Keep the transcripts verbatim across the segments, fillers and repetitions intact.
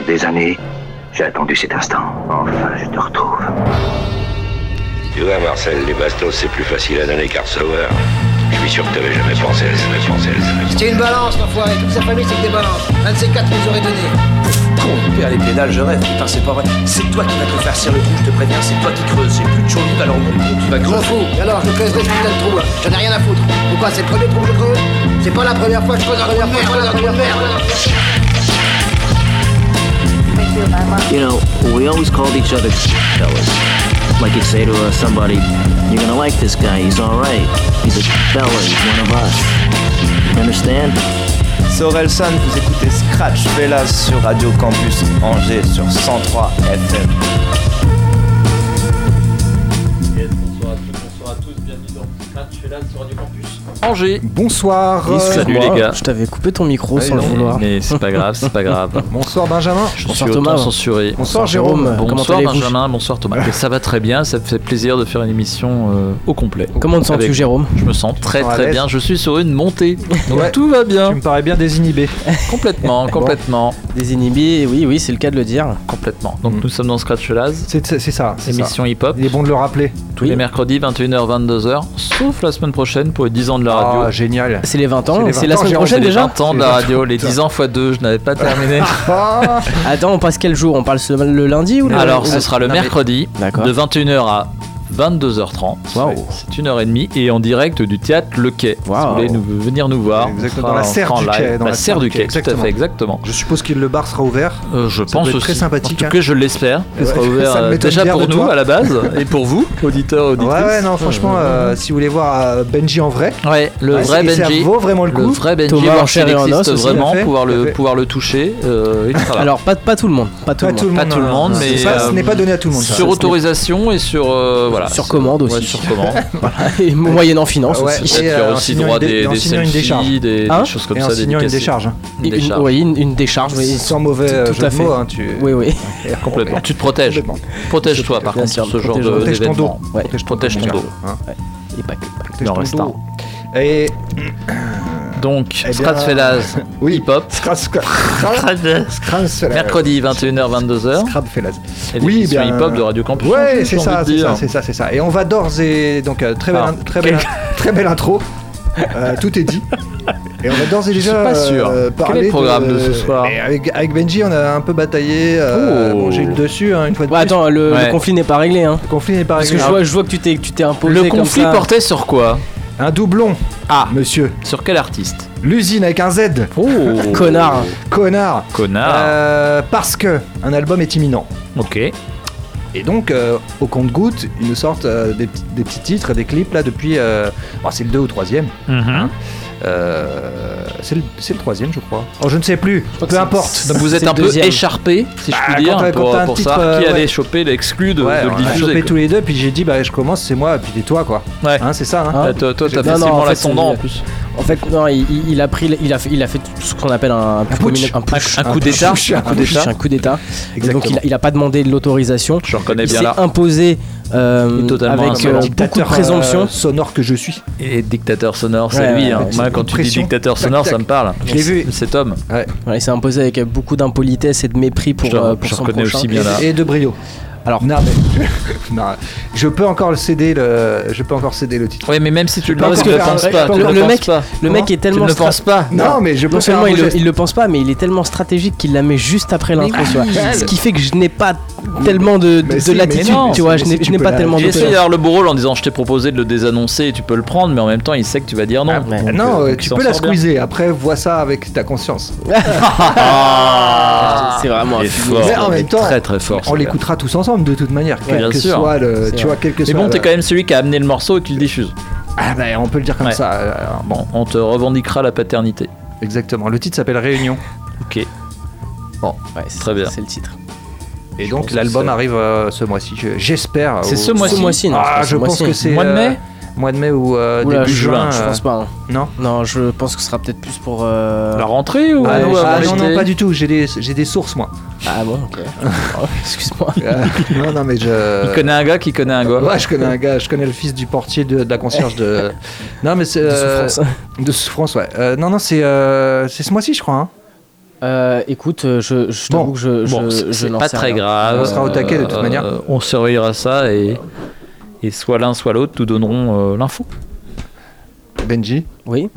des années, j'ai attendu cet instant. Enfin, je te retrouve. Tu vois, Marcel, les bastos, c'est plus facile à donner qu'à recevoir. Je suis sûr que t'avais jamais pensé à jamais pensé à jamais. C'était une balance, l'enfoiré. Toute sa famille, c'est que des balances. Un de ces quatre nous aurait donné. Con, père, les pédales, je rêve. Putain, c'est pas vrai. C'est toi qui vas te faire serrer le trou, je te préviens. C'est toi qui creuses. J'ai plus de chaude, alors mon trou, tu vas Je m'en creuser. fous. Et alors, je creuserai ce putain de trou, là. J'en ai rien à foutre. Pourquoi, c'est le premier trou que je creuse? C'est pas la première fois que je creuse un trou de merde, un trou de merde. You know, we always called each other fellas. Like you'd say to uh, somebody, you're gonna like this guy, he's alright. He's a fella, he's one of us. You understand? C'est Orelsan, vous écoutez Scratch Fellas sur Radio Campus Angers sur cent trois F M. Yes, bonsoir à tous, bonsoir à tous, bienvenue dans Scratch Fellas sur Radio Campus Angers. Bonsoir. Et salut les gars. Je t'avais coupé ton micro Ah, sans le non. vouloir. Mais c'est pas grave, c'est pas grave. Bonsoir Benjamin. Je Bonsoir suis Thomas. autant censuré. Bonsoir Jérôme. Comment Bonsoir allez-vous ? Benjamin, bonsoir Thomas. Et ça va très bien, ça me fait plaisir de faire une émission euh, au complet. Comment te sens-tu, Avec- Jérôme ? Je me sens très sens à très l'aise bien, je suis sur une montée. Donc Ouais. tout va bien. Tu me parais bien désinhibé. Complètement, complètement, Désinhibé, oui, oui, c'est le cas de le dire. complètement. Donc Mm. nous sommes dans Scratch Fellas, C'est, c'est, c'est ça. C'est ça. émission hip-hop. Il est bon de le rappeler. Tous Oui. les mercredis, vingt et une heures, vingt-deux heures, sauf la semaine prochaine pour les dix ans de la radio. Ah, génial. C'est les vingt ans, C'est les c'est vingt la ans, semaine Jérôme, prochaine C'est les déjà. vingt ans de la radio, les dix ans fois deux, je n'avais pas terminé. Ah, Attends, on passe quel jour ? On parle ce- le lundi ou le Alors ou- ce sera le non, mais- mercredi D'accord. de vingt et une heures à vingt-deux heures trente. Waouh. C'est une heure et demie et en direct du théâtre Le Quai. Si Waouh. vous voulez nous, venir nous voir, on Exactement, sera- dans la on serre sera en du live. Quai, Dans la serre du Quai, tout à exactement. fait, exactement. je suppose que le bar sera ouvert. Euh, je Ça pense doit être aussi. très sympathique, En tout hein. cas, je l'espère. Ce sera Ouais, ouvert ça me euh, m'étonne déjà bien pour de nous toi. à la base et pour vous, auditeurs, Ouais, auditrices. ouais, non, franchement, euh, si vous voulez voir euh, Benji en vrai, Ouais, le ouais, vrai c'est- ça Benji. vaut vraiment le Le coup. vrai Benji, Thomas voir en chair s'il et en existe os aussi, vraiment, tout à fait, pouvoir tout à le, fait. pouvoir le toucher. euh, et voilà. Alors, pas, pas tout le monde. Pas tout Pas le tout le monde. monde. Pas tout le non, monde, non, mais, ça, ce euh, n'est pas donné à tout le monde. ça. sur autorisation et sur euh, voilà. Sur commande aussi. Ouais, sur commande. Et moyennant finance Ouais. aussi. Et Et, tu as euh, en aussi signant droit une dé- des, et en des signant une décharge. selfies, des, Hein des choses comme Et ça, en signant une dédicacées. décharge. Une Une- décharge. Oui, une, une décharge. Oui. Sans mauvais Tout- euh, tout jeu à de fait. mots. Hein, tu... Oui, oui. Complètement. Tu te protèges. Complètement. Protège-toi par Bien contre sûr, sur ce genre protège- de- Protège ton dos. d'événement. Ouais. Protège ton mon dos. gars, hein. Et pas que. pas que. Protège Il en ton reste dos. Et Donc, Eh bien, Scratch Fellas, oui. hip-hop. Scratch, Scratch, Scratch, Mercredi, vingt et une heures, vingt-deux heures. Scrap Fellas. Et Oui, l'émission bien. hip-hop de Radio Campus. Ouais, Angers, c'est j'ai ça, envie de c'est dire. ça, c'est ça, c'est ça. Et on va d'ores et donc euh, très belle, Ah, très belle, très belle intro. Euh, tout est dit. Et on va d'ores et déjà suis pas sûr. euh, Quel parler est le programme de ce soir et avec, avec Benji, on a un peu bataillé. Euh, Oh. bon, j'ai eu le dessus hein, une fois de Ouais, plus. attends, le, Ouais. le conflit n'est pas réglé. Hein. Le conflit n'est pas Parce que réglé. je vois, je vois que tu t'es, que tu t'es imposé Le comme conflit ça. portait sur quoi? Un doublon, Ah, monsieur. sur quel artiste? L'usine avec un Z. Oh, Connard. Connard. Connard. Euh, parce que un album est imminent. Ok. Et donc, euh, au compte-gouttes, ils nous sortent euh, des, petits- des petits titres, des clips là depuis. Euh, bon, c'est le deux ou troisième. Mhm. Euh, c'est le, c'est le troisième, je crois. Oh, je ne sais plus. crois que Peu c'est- importe. Donc vous êtes C'est un le peu deuxième. écharpé, si je Bah, puis dire, quand t'as- quand pour, t'as un pour titre, savoir qui euh, allait ouais. choper l'exclu de, Ouais, de le on a diffuser. chopé quoi. tous les deux, puis j'ai dit, bah, je commence, c'est moi, puis c'est toi, quoi. Ouais. Hein, c'est ça, hein. Hein Ouais, toi, toi, t'as Non, non, facilement en fait, l'ascendant en c'est- plus. En fait, non, il, il- il a pris, il a fait, il a fait ce qu'on appelle un, un, putsch. un push, Un coup d'État. push, un un coup coup d'État, d'État. un coup d'État. Et Exactement. donc il a, il a pas demandé l'autorisation. Je reconnais Il bien s'est là. imposé euh, Et totalement avec insolent. euh, beaucoup de Dictateur, présomption. euh, sonore que je suis. Et dictateur sonore, c'est Ouais, lui. ouais, hein. avec Moi, cette quand tu dis pression. dictateur Tac, sonore, tac. ça me parle. Je l'ai vu. Cet homme. Ouais, il s'est imposé avec beaucoup d'impolitesse et de mépris pour, Je- euh, pour je son reconnais prochain. aussi bien là. Et de brio. Alors, Non, mais. non, je peux encore le céder, le. Je peux encore céder le titre. Oui, mais même si tu le Parce penses, que tu ne le- penses le- pas. tu le ne penses mec- pas. le mec est Tu tellement ne stra- penses pas. Non, mais je peux non faire seulement un il beau le, geste. il le pense pas, mais il est tellement stratégique qu'il la met juste après l'intro. oui, tu vois. oui. Ce qui fait que je n'ai pas tellement de, de, Mais de si, mais latitude, non, tu vois. mais Je si n'ai, tu je n'ai peux pas la- tellement J'ai de essayé d'avoir le beau rôle en disant je t'ai proposé de le désannoncer et tu peux le prendre, mais en même temps il sait que tu vas dire non. Ah, Donc, non, euh, euh, donc tu il s'en peux la sort bien. squeezer. Après, vois ça avec ta conscience. Ah, C'est vraiment il un est film. fort, Mais en il est même temps, très très fort. On ce l'écoutera tous ensemble de toute manière, quel bien que sûr. soit le, C'est tu vois, quel que gars. Mais soit. bon, t'es le- quand même celui qui a amené le morceau et qui le diffuse. Ah bah, on peut le dire comme Ouais. ça. euh, alors, bon, Bon, on te revendiquera la paternité. exactement. Le titre s'appelle Réunion. Ok. Ouais, c'est, Très bien. C'est le titre. Et Je donc pense que l'album c'est- arrive euh, ce mois-ci. Je- J'espère. C'est au- ce mois-ci. Ce mois-ci, non. Ah, c'est pas je ce pense mois-ci. que c'est Mois de euh, mai mois de mai ou euh, Oula, début juin, juin. je euh, pense pas. hein. Non. Non, je pense que ce sera peut-être plus pour. euh, La rentrée ou Ah, ou non, avant ah, non, l'été non, pas du tout. J'ai des, j'ai des sources moi. Ah bon, ok. Oh, excuse-moi. Euh, non, non, mais je. Il connaît un gars qui connaît un gars. Ouais, je connais un gars. Je connais le fils du portier de, de la concierge de. Non, mais c'est. De euh, souffrance. De souffrance, ouais. Euh, non, non, c'est euh, c'est ce mois-ci, je crois. Hein. Euh, écoute, je, je t'avoue Bon. que je, Bon, je, c'est, je c'est n'en pas sais très rien. grave. On sera au taquet, de toute Euh, manière. On surveillera ça et, et soit l'un soit l'autre nous donneront euh, l'info. Benji, Oui.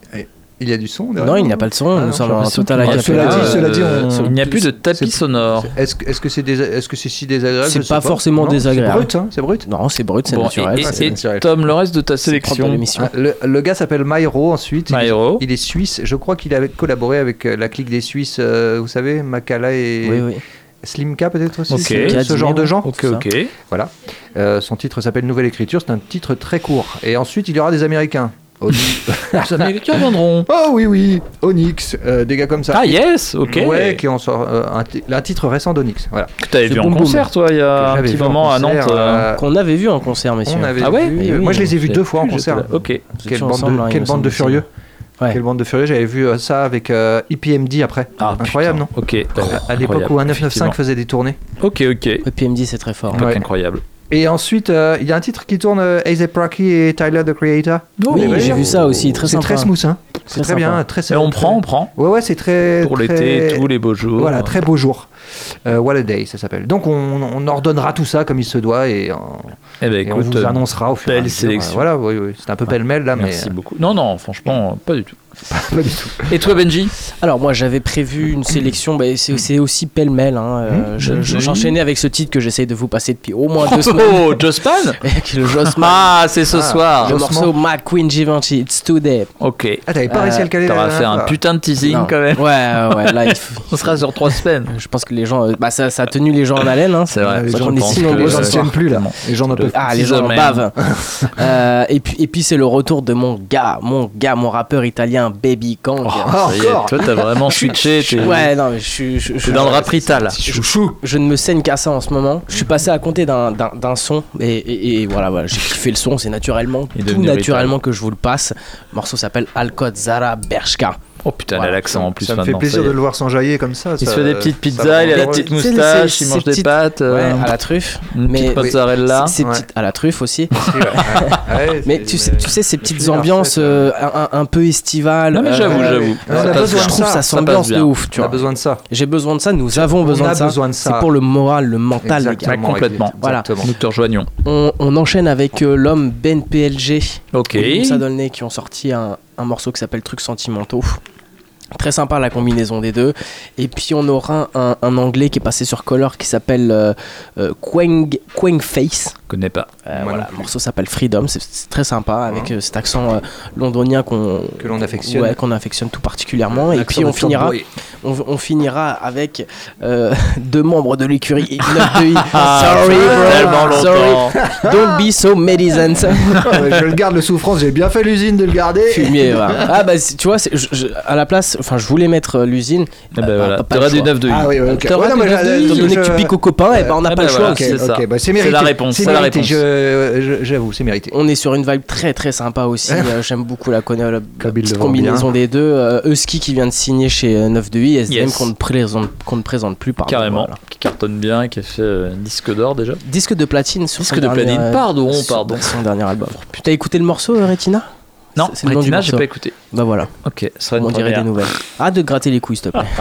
il y a du son derrière Non, il nous n'y a pas de son. Ah, nous non, sommes j'ai en l'impression total qu'il- a Ah, cela cappella. dit, cela dit, Euh, on- il n'y a plus de tapis c'est- sonore. Est-ce que est-ce que c'est dés- est-ce que c'est si désagréable C'est je sais pas forcément Non, désagréable. C'est brut, hein, c'est brut. Non, c'est brut, c'est Bon, naturel. et, et- c'est et naturel. Tom, le reste de ta c'est propre de sélection. l'émission. Ah, le, le gars s'appelle Myro ensuite. Il est- Myro. Il est suisse. Je crois qu'il avait collaboré avec euh, la clique des Suisses. euh, vous savez, Makala et Oui, oui. Slimka peut-être aussi. Ok. ce- Slimka, Ce genre de gens. Ok, C'est ça. ok. Voilà. Euh, son titre s'appelle Nouvelle Écriture. C'est un titre très court. Et ensuite, il y aura des Américains. Onyx. Les Américains viendront. Oh oui, oui. Onyx. euh, des gars comme ça. Ah yes, ok. Ouais, qui en sort euh, un, ti- un titre récent d'Onyx. Voilà. Que t'avais C'est vu en Boom Boom. concert, toi, il y Que a un j'avais petit vu en moment à Nantes. concert, euh, euh, Qu'on avait vu en concert, messieurs. on avait Ah ouais vu- Oui, oui, Moi, je les ai vus J'ai deux fois en plus, concert. j'étais là. Ok. Nous Quelle étions bande, ensemble, de, hein, il quelle me bande de semble, furieux. Ouais. Quelle bande de furieux. J'avais vu euh, ça avec euh, I P M D après. Ah, Incroyable, putain. Ok. À l'époque où un neuf neuf cinq faisait des tournées. Ok, ok. Et P M D, c'est très fort. Époque Ouais. incroyable. Et ensuite, euh, il y a un titre qui tourne, euh, A$AP Rocky et Tyler, the Creator. Oui, Vous avez j'ai vu vu ça aussi, très C'est sympa. très smooth, hein. C'est Très très bien, sympa. très Et on prend, on prend. Ouais, ouais, c'est très. Pour très- l'été, tous les beaux jours. Voilà, très beau jour. Euh, What a Day, ça s'appelle. Donc on, on ordonnera tout ça comme il se doit et, en- Eh ben, et on écoute, vous annoncera au fur et à belle mesure. sélection. Voilà, oui, oui. C'est un peu pêle-mêle là, merci mais beaucoup. Non, non, franchement, pas du tout. euh, pas du tout. Et toi, Benji? Alors moi j'avais prévu une sélection, bah, c'est, c'est aussi pêle-mêle. Hein. Euh, je- je- j'enchaînais avec ce titre que j'essaye de vous passer depuis au moins deux semaines. Oh, Josspan? Avec le Jossman. Ah, c'est ce Ah, soir. le Jossman. morceau McQueen Givenchy, It's Today. Ok. Ah, t'avais pas réussi à le caler T'auras la fait dernière un fois. putain de teasing Non. quand même. Ouais, ouais, ouais, là il faut- On sera sur trois semaines. je pense que les gens, euh, bah, ça, ça a tenu les gens en haleine. Hein. C'est vrai. les Moi, gens qu'on est pensent si que nombreux Les gens ce ne soir. tiennent plus là. Les gens n'en peuvent plus. Ah, les gens en Six bavent. Euh, et puis, et puis c'est le retour de mon gars, mon gars, mon rappeur italien Baby Kang. Ah, Ça y est, encore. toi, t'as vraiment switché. T'es Ouais, non, mais je suis. je- je- t'es dans le rap rital. Chouchou. Je ne me saigne qu'à ça en ce moment. Je suis passé à compter d'un, d'un, d'un son et, et- et voilà, voilà, j'ai kiffé le son. C'est naturellement, Il est tout devenu naturellement que je vous le passe. Le morceau s'appelle Alcott Zara Bershka. Oh putain, il a Voilà. l'accent en plus Ça me fait maintenant. plaisir ça y de est. le voir s'enjailler comme ça. Il ça- se fait des petites ça pizzas, me il a la rend petite heureux. C'est- moustache, c'est- il ces mange des petites- pâtes. Ouais, euh, à la truffe. Une petite Mais mozzarella. ces Ouais. petites à la truffe aussi. Ouais, ouais, Mais c'est- tu sais, tu sais ces petites plusieurs ambiances fêtes, euh, un, un- un peu estivales. Non mais euh, j'avoue, ouais, j'avoue. ouais. Ça On a passe besoin bien. je trouve ça, ça ça s'ambiance passe de bien. ouf, tu On a vois. besoin de ça. J'ai besoin de ça, nous avons On besoin a de ça. besoin de ça. C'est pour le moral, le mental, les gars. Exactement, complètement. Voilà. exactement. Nous te rejoignons. On, on enchaîne avec euh, l'homme Ben P L G Ok. et Moussa Dolnay qui ont sorti un, un morceau qui s'appelle Trucs Sentimentaux. Très sympa la combinaison des deux. Et puis on aura un, un anglais qui est passé sur Color qui s'appelle euh, euh, Quang, Quang Face. Je connais pas. Euh, Moi voilà, non le plus. morceau s'appelle Freedom, c'est, c'est très sympa avec euh, cet accent euh, londonien qu'on, Que l'on affectionne. ouais, qu'on affectionne tout particulièrement. Et L'accent puis on de finira, Short Boy. on, on finira avec euh, deux membres de l'écurie et neuf de I. Ah, Sorry tellement bro, longtemps. sorry. Don't be so medicine. Ouais, je le garde le souffrance, j'ai bien fait l'usine de le garder. Fumier, voilà. Ah bah c'est- tu vois, c'est- je- je- à la place, enfin je voulais mettre euh, l'usine. Eh ben Bah, voilà. pas- pas T'auras le du choix. neuf de Ah oui, ouais, ok. T'auras Ouais, non, du mais neuf de je- I, étant je- donné que tu piques aux copains, et ben on n'a Ah pas bah le choix. voilà. Ok, C'est ça. ok, bah c'est C'est mérité. la réponse, C'est c'est la mérité, réponse. je- je- J'avoue, c'est mérité. On est sur une vibe très très sympa aussi. Euh, J'aime beaucoup la, conne- la Comme il petite le vend combinaison bien. des deux. Euh, Husky qui vient de signer chez euh, neuf de I, S D M Yes. qu'on ne présente, qu'on ne présente plus. Pardon, Carrément. voilà. Qui cartonne bien, qui a fait euh, un disque d'or déjà. Disque de platine sur Disque son de dernier, platine, euh, pardon, sur pardon. son dernier album. T'as écouté le morceau, euh, Retina? Non, C'est- c'est le nom du Retina, j'ai morceau. pas écouté. Bah voilà, Ok, ce sera une on dirait des première. nouvelles. Arrête de te gratter les couilles, s'il te plaît.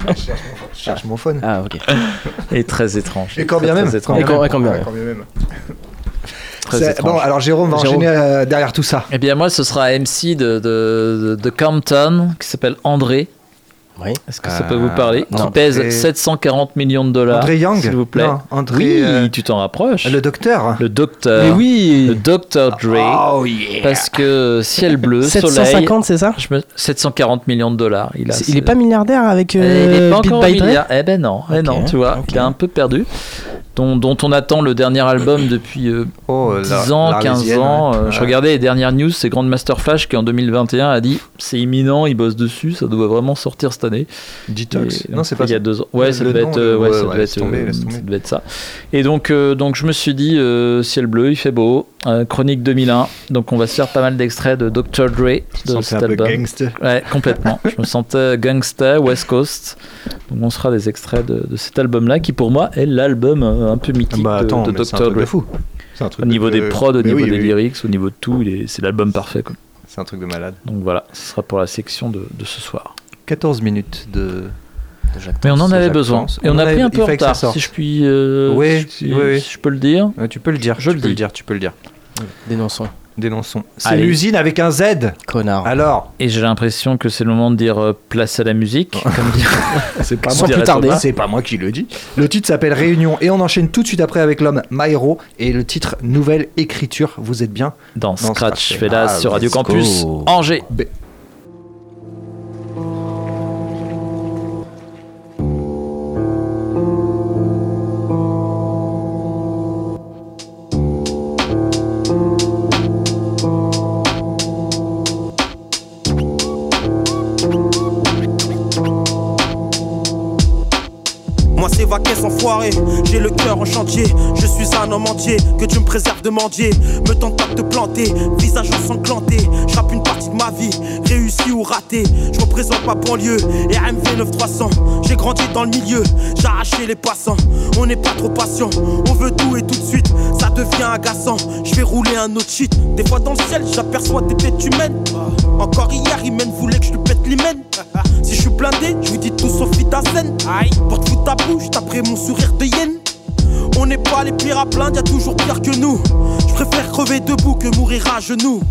Je cherche mon phone. Ah ok. Et très étrange. Et quand Très, bien très même. étrange. Et quand- et quand bien Ouais, même. quand bien même. Très C'est- étrange. Bon, alors Jérôme va Jérôme. enchaîner euh, derrière tout ça. Eh bien moi ce sera M C de, de, de, de Compton qui s'appelle André. Oui. Est-ce que ça Euh, peut vous parler? Qui André- pèse sept cent quarante millions de dollars. André Young s'il vous plaît. Non, André, oui, euh, tu t'en rapproches. Le docteur. Le docteur. Mais Le oui. docteur Dre. Oh yeah. Parce que ciel bleu, sept cent soleil. cinquante, c'est ça? Je me... sept cent quarante millions de dollars. Il, a, C'est- Il est pas milliardaire avec Euh, euh, il est pas Beat encore by Dre? milliard. Eh ben non, eh Ok, non, tu vois, ok. il a un peu perdu. Dont, dont on attend le dernier album depuis euh, Oh, la- dix ans, quinze l'Arlésienne, ans. ouais. Euh, Je Ouais. regardais les dernières news, c'est Grandmaster Flash qui en deux mille vingt et un a dit c'est imminent, il bosse dessus, ça doit vraiment sortir cette année. Detox. Et- Non, c'est pas il y a ça. deux ans. Ouais, ça Le devait nom, être, le- euh, ouais, ouais, ça ouais, devait laisse être, tomber, euh, laisse ça tomber. devait être ça. Et donc, euh, donc je me suis dit euh, ciel bleu, il fait beau. Euh, Chronique deux mille un. Donc on va se faire pas mal d'extraits de docteur Dre de C'est cet un peu album. gangster. Ouais, complètement. Je me sentais gangsta, West Coast. Donc on sera des extraits de, de cet album-là, qui pour moi est l'album euh, un peu mythique Bah attends, de, de mais c'est un docteur truc de Dre. fou. C'est un truc Au niveau de- des prods, au Mais niveau oui, des oui, oui. lyrics, au niveau de tout, il est- c'est l'album parfait, quoi. C'est un truc de malade. Donc voilà, ce sera pour la section de, de ce soir. quatorze minutes de de Jacques Mais on en Tens. avait Jacques besoin. Tens. Et on, On a avait- pris un il peu en fallait que ça retard, sorte. si je puis. euh, Oui, si, oui, oui. si je peux le dire. Euh, tu peux le dire, Je tu le peux le dis. dire, tu peux le dire. Dénonçons. Dénonçons. C'est Allez. l'usine avec un Z. Connard. Alors, Et j'ai l'impression que c'est le moment de dire euh, place à la musique. Comme dit- c'est pas Sans moi. plus tarder. C'est pas moi qui le dis. Le titre s'appelle Réunion et on enchaîne tout de suite après avec l'homme Maïro et le titre Nouvelle écriture. Vous êtes bien Dans Scratch Scratch Fellas, Fellas sur Radio let's Campus go. Angers. B. Moi c'est vaquer sans foirer, j'ai le cœur en chantier. Je suis un homme entier, que Dieu me préserve de mendier. Me tente pas de te planter, visage ensanglanté. Je rappe une partie de ma vie, réussi ou raté. Je représente ma banlieue, R M V neuf trois cents. J'ai grandi dans le milieu, j'ai arraché les passants. On n'est pas trop patient, on veut tout et tout de suite. Ça devient agaçant, je vais rouler un autre shit. Des fois dans le ciel, j'aperçois des têtes humaines. Encore hier, Imen voulait que je lui pète l'hymen. Si je suis blindé, je vous dis tout sauf Vitazen. Aïe, porte foutre ta bouche, t'après mon sourire de hyène. On n'est pas les pires à plaindre, y'a toujours pire que nous. Je préfère crever debout que mourir à genoux.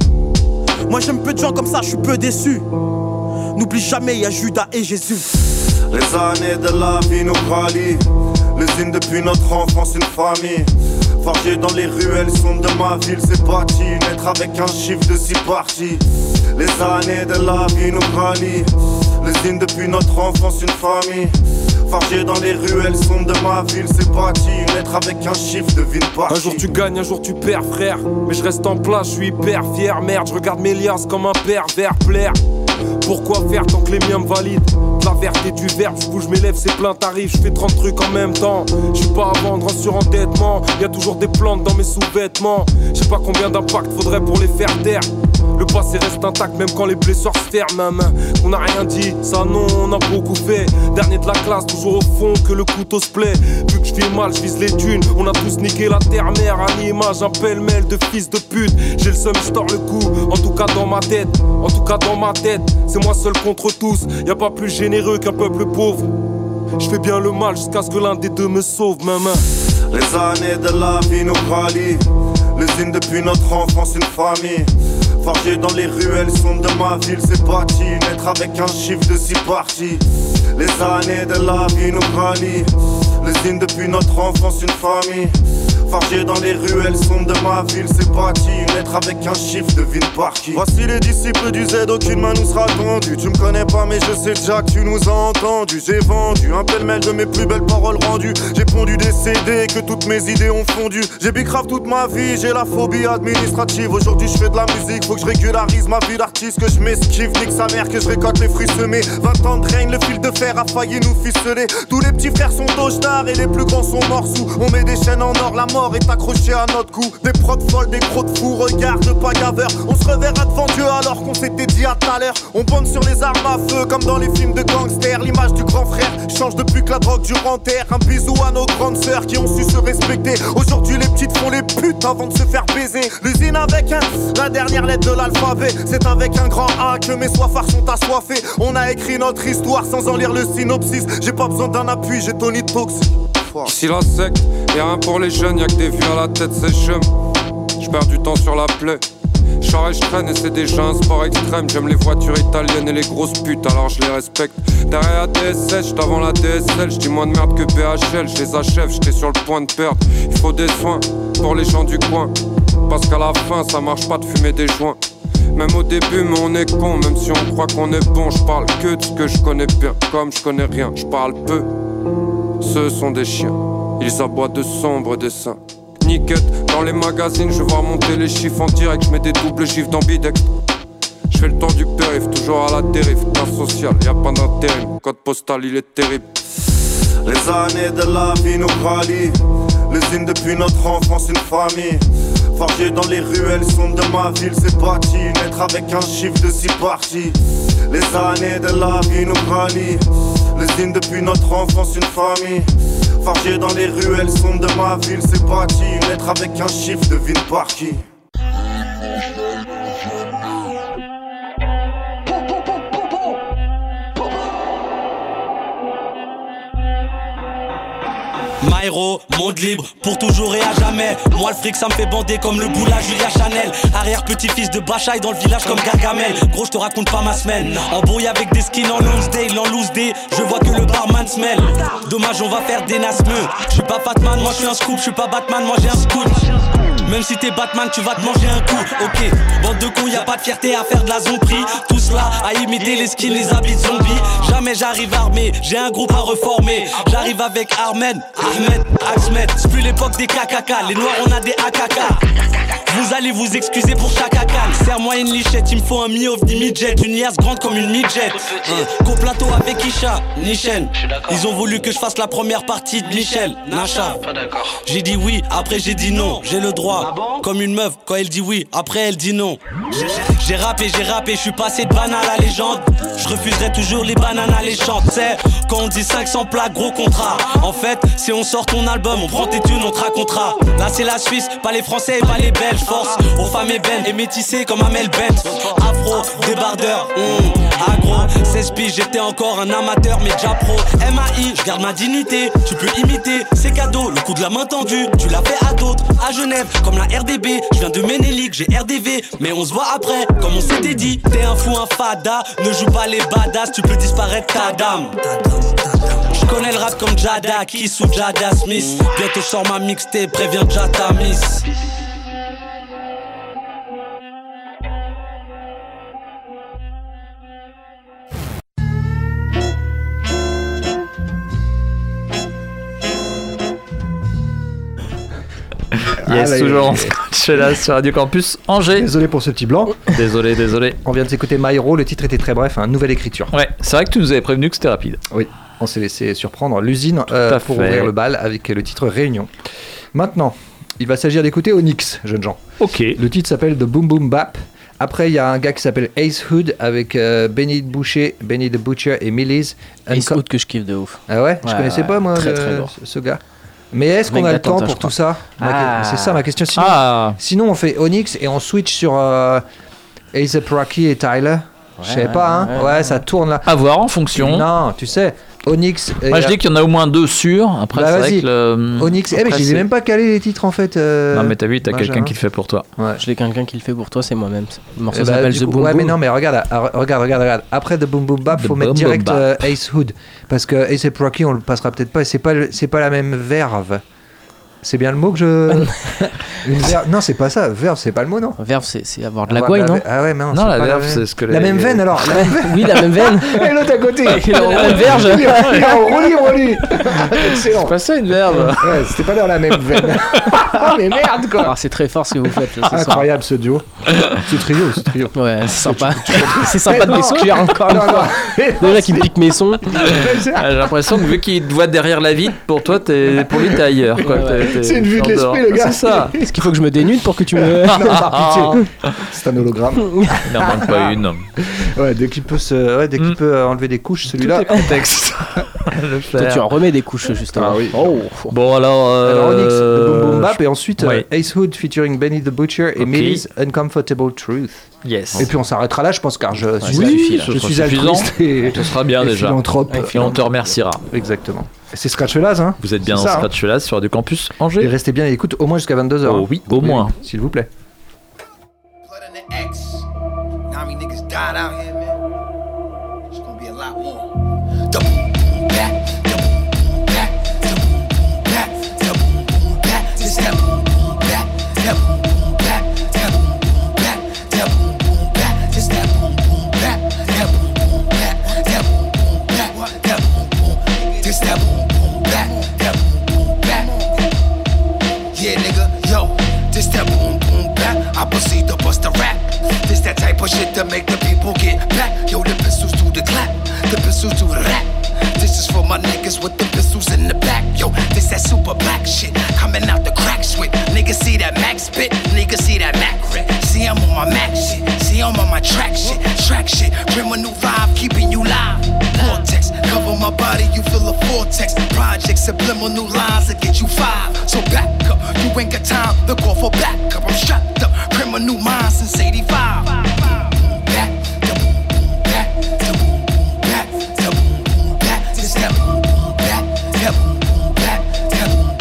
Moi j'aime peu de gens comme ça, je suis peu déçu. N'oublie jamais, y'a Judas et Jésus. Les années de la vie nous rallient. L'usine depuis notre enfance, une famille. Forgé dans les ruelles sombres de ma ville, c'est bâti. Naître avec un chiffre de six parties. Les années de la vie nous rallient. L'usine depuis notre enfance, une famille. Forgé dans les ruelles sombres de ma ville, c'est bâti. Naître avec un chiffre de ville partie. Un jour tu gagnes, un jour tu perds, frère. Mais je reste en place, je suis hyper fier. Merde, je regarde mes liasses comme un pervers plaire. Pourquoi faire tant que les miens me valident? De la verte et du verbe, je bouge mes lèvres, c'est plein tarif. Je fais trente trucs en même temps. Je suis pas à vendre en surendettement. Y'a toujours des plantes dans mes sous-vêtements. Je sais pas combien d'impact faudrait pour les faire taire. Le passé reste intact même quand les blessures se ferment. Même on n'a rien dit, ça non, on a beaucoup fait. Dernier de la classe, toujours au fond que le couteau se plaît. Vu que je vis mal, je vise les dunes. On a tous niqué la terre-mère à l'image, un pêle-mêle de fils de pute. J'ai le seum, je tords le cou, en tout cas dans ma tête. En tout cas dans ma tête, c'est moi seul contre tous. Y'a pas plus généreux qu'un peuple pauvre. Je fais bien le mal jusqu'à ce que l'un des deux me sauve, même. Les années de la vie nous rallient. L'usine depuis notre enfance, une famille. Forgé dans les ruelles sombres de ma ville, c'est bâti. Naître avec un chiffre de six parties. Les années de la vie nous rallient. L'usine depuis notre enfance, une famille. Forgé dans les ruelles sombres de ma ville, c'est bâti. Naître avec un chiffre de ville partie. Voici les disciples du Z, aucune main nous sera tendue. Tu me connais pas mais je sais déjà que tu nous as entendus. J'ai vendu un pêle-mêle de mes plus belles paroles rendues. J'ai pondu des C D que toutes mes idées ont fondu. J'ai bicrave toute ma vie, j'ai la phobie administrative. Aujourd'hui je fais de la musique, faut que je régularise ma vie d'artiste. Que je m'esquive, nique sa mère, que je récolte les fruits semés. Vingt ans de règne, le fil de fer a failli nous ficeler. Tous les petits frères sont d'Auchnard et les plus grands sont morts sous. On met des chaînes en or, la mort est accrochée à notre cou. Des prods folles, des gros de fou, regarde pas gaveur. On se reverra devant Dieu alors qu'on s'était dit à tout à l'heure. On bande sur les armes à feu comme dans les films de gangsters. L'image du grand frère change depuis que la drogue dure en terre. Un bisou à nos grandes sœurs qui ont su se respecter. Aujourd'hui les petites font les putes avant de se faire baiser. L'usine avec un, la dernière lettre de l'alphabet. C'est avec un grand A que mes soifards sont assoiffés. On a écrit notre histoire sans en lire le synopsis. J'ai pas besoin d'un appui, j'ai Tony Toxic. Ici la secte, y'a rien pour les jeunes, y'a que des vieux à la tête, c'est chum. J'perds du temps sur la plaie. J'arrête, j'traîne et c'est déjà un sport extrême. J'aime les voitures italiennes et les grosses putes, alors je les respecte. Derrière la D S S, j't'avant la D S L. J'dis moins de merde que B H L, j'les achève, j'étais sur le point de perdre. Il faut des soins pour les gens du coin. Parce qu'à la fin, ça marche pas de fumer des joints. Même au début, mais on est con, même si on croit qu'on est bon. J'parle que de ce que je connais bien, comme je connais rien, j'parle peu. Ce sont des chiens, ils aboient de sombres dessins. Niquette, dans les magazines, je vois monter les chiffres en direct. Je mets des doubles chiffres d'ambidextre. Je fais le tour du périph', toujours à la dérive. Classe sociale, y'a pas d'intérim. Code postal, il est terrible. Les années de la vie nous rallient. L'usine depuis notre enfance, une famille. Forgé dans les ruelles sombres de ma ville, c'est bâti. Naître avec un chiffre de six parties. Les années de la vie nous rallient. L'usine depuis notre enfance, une famille. Forgé dans les ruelles sombres de ma ville, c'est bâti. Naître avec un chiffre de ville partie. Myro, monde libre, pour toujours et à jamais. Moi le fric ça me fait bander comme le boula Julia Chanel. Arrière petit-fils de Bachaï dans le village comme Gargamel. Gros je te raconte pas ma semaine. Embrouille avec des skins en Lonsdale, en loose day. Je vois que le barman smell. Dommage on va faire des nasmeux. Je suis pas Batman, moi je suis un scoop. Je suis pas Batman, moi j'ai un scoop. Même si t'es Batman, tu vas te manger un coup. Ok, bande de cons, y'a pas de fierté à faire de la zombie. Tous là à imiter les skins, les habits de zombies. Jamais j'arrive armé, j'ai un groupe à reformer. J'arrive avec Armen, Ahmed, Axmed. C'est plus l'époque des K K K, les noirs on a des A K K. Vous allez vous excuser pour chaque acal. Serre-moi une lichette, il me faut un mi-off, des midget. Une liasse grande comme une midget. Hein. Coplateau avec Isha, Nichen. Ils ont voulu que je fasse la première partie de Michel, Nacha. J'ai dit oui, après j'ai dit non. J'ai le droit, comme une meuf, quand elle dit oui, après elle dit non. J'ai rappé, j'ai rappé, je suis passé de banane à la légende. Je refuserai toujours les bananes alléchantes. C'est quand on dit cinq cents plaques, gros contrat. En fait, si on sort ton album, on prend tes thunes, on te racontera. Là c'est la Suisse, pas les Français et pas les Belges. Force aux femmes ébènes et métissées comme Amel Bent. Afro, débardeur, mmh, agro, seize piges, j'étais encore un amateur mais déjà pro. M A I, je garde ma dignité, tu peux imiter, c'est cadeau, le coup de la main tendue, tu l'as fait à d'autres, à Genève, comme la R D B, je viens de Ménélique, j'ai R D V, mais on se voit après, comme on s'était dit, t'es un fou, un fada, ne joue pas les badass, tu peux disparaître ta dame. Je connais le rap comme Jada, Kiss ou Jada Smith, bientôt je sors ma mixtape, préviens Jata Miss. Yes, Allez. toujours en scratch là sur Radio Campus Angers. Désolé pour ce petit blanc. Désolé, désolé. On vient de s'écouter Myro, le titre était très bref, hein, nouvelle écriture. Ouais, c'est vrai que tu nous avais prévenu que c'était rapide. Oui, on s'est laissé surprendre l'usine euh, pour fait. ouvrir le bal avec le titre Réunion. Maintenant, il va s'agir d'écouter Onyx, jeunes gens. Ok. Le titre s'appelle The Boom Boom Bap. Après, il y a un gars qui s'appelle Ace Hood avec euh, Benny Boucher, Benny the Butcher et Millies. Ace Hood que je kiffe de ouf. Ah ouais, Je Ouais, connaissais ouais, pas moi très, le- très lourd. ce gars. Mais est-ce qu'on Mec a le temps d'attentat, pour je tout crois. ça Ma- Ah. C'est ça ma question. Sinon, Ah. sinon on fait Onyx et on switch sur euh, A$AP Rocky et Tyler. Je sais Ouais, pas, hein. ouais, Ouais, ouais. ça tourne là. À voir en fonction. Non, tu sais, Onyx. et- Moi je dis qu'il y en a au moins deux sûrs. Après, Bah, c'est vas-y. vrai que le. Onyx. Eh, mais Après, je les ai c'est- même pas calés les titres en fait. euh, Non, mais t'as vu, t'as Benjamin. quelqu'un qui le fait pour toi. Ouais. Je l'ai quelqu'un qui le fait pour toi, c'est moi-même. Le morceau Eh bah, s'appelle du The coup- Boom ouais, Boom. mais non, mais regarde, ah, regarde, regarde, regarde. Après The Boom Boom Bap, The faut mettre Boom direct Boom euh, Bap. Ace Hood parce que A$AP Rocky, on le passera peut-être pas. Et c'est pas, le- c'est pas la même verve. C'est bien le mot que je. Une verve. Non, c'est pas ça. Verve, c'est pas le mot, non. Verve, c'est c'est avoir de la Avoir gouaille, de non Ah ouais, mais non. Non, c'est la pas verve, même- c'est ce que La les- même veine alors. La même veine. Oui, la même veine. Et l'autre à côté. Il est en même verge. Il est il est en roue libre, lui. Excellent. Pas ça une verbe. Ouais, c'était pas dans la même veine. Oh, mais merde, quoi. Alors, c'est très fort ce que vous faites là, ce soir. Incroyable ce duo. Ce trio, ce trio. Ouais, c'est sympa. C'est sympa de Non. m'exclure encore une Non, fois. non. Déjà qui me pique mes sons. Ah, J'ai l'impression que vu qu'il te voit derrière la vitre, pour toi, t'es, pour lui, t'es ailleurs. Quoi. Ouais, ouais. T'es- t'es- C'est une vue de t'es en dehors. l'esprit, le gars. C'est ça. Est-ce qu'il faut que je me dénude pour que tu me. Non, par pitié. C'est un hologramme. Il n'en manque pas une. Ouais, dès qu'il peut, se... ouais, dès qu'il Mm. peut euh, enlever des couches, celui-là. Tout est contexte. Le Toi, faire. tu en remets des couches justement. Ah oui. Oh. Bon, alors. euh, Alors Onyx, The Boom Boom Bap, et ensuite ouais. euh, Ace Hood featuring Benny the Butcher et Ok. Millie's Uncomfortable Truth. Yes. Et puis on s'arrêtera là, je pense, car je suis, ça suffit, là. je Ce sera suis suffisant. altruiste et, Ce sera bien et déjà. philanthrope. Et on te remerciera. Exactement. Et c'est Scratch Fellas, hein. Vous êtes bien C'est en ça, hein. Scratch là sur Radio Campus Et Angers. restez bien à l'écoute au moins jusqu'à vingt-deux heures. Oh oui, au moins. S'il vous plaît. Blood in the X. Now me niggas died out here, man. It's gonna be a lot more. The boom boom bap, the boom boom bap, the boom boom bap, the boom boom bap. This that boom boom bap, that boom boom bap, that boom boom bap, that boom boom bap. This that boom boom bap, that boom boom bap, that boom boom bap, that boom boom. This that boom boom bap, that boom boom bap. Yeah, nigga, yo, this that boom boom bap. I proceed to bust a rap. This that type of shit to make the people get back. Yo, the pistols do the clap, the pistols do the rap. This is for my niggas with the pistols in the back. Yo, this that super black shit coming out the crack switch. Niggas see that max spit, niggas see that Mac rip. See I'm on my Mac shit, see I'm on my track shit, track shit. Criminal vibe keeping you live. Vortex, cover my body, you feel a vortex. Project subliminal lines that get you five. So back up, you ain't got time to call for backup. I'm strapped up, criminal minds since eighty-five. Back, the boom boom back, the boom boom back, the boom boom back. This that boom boom back, that boom boom back, that boom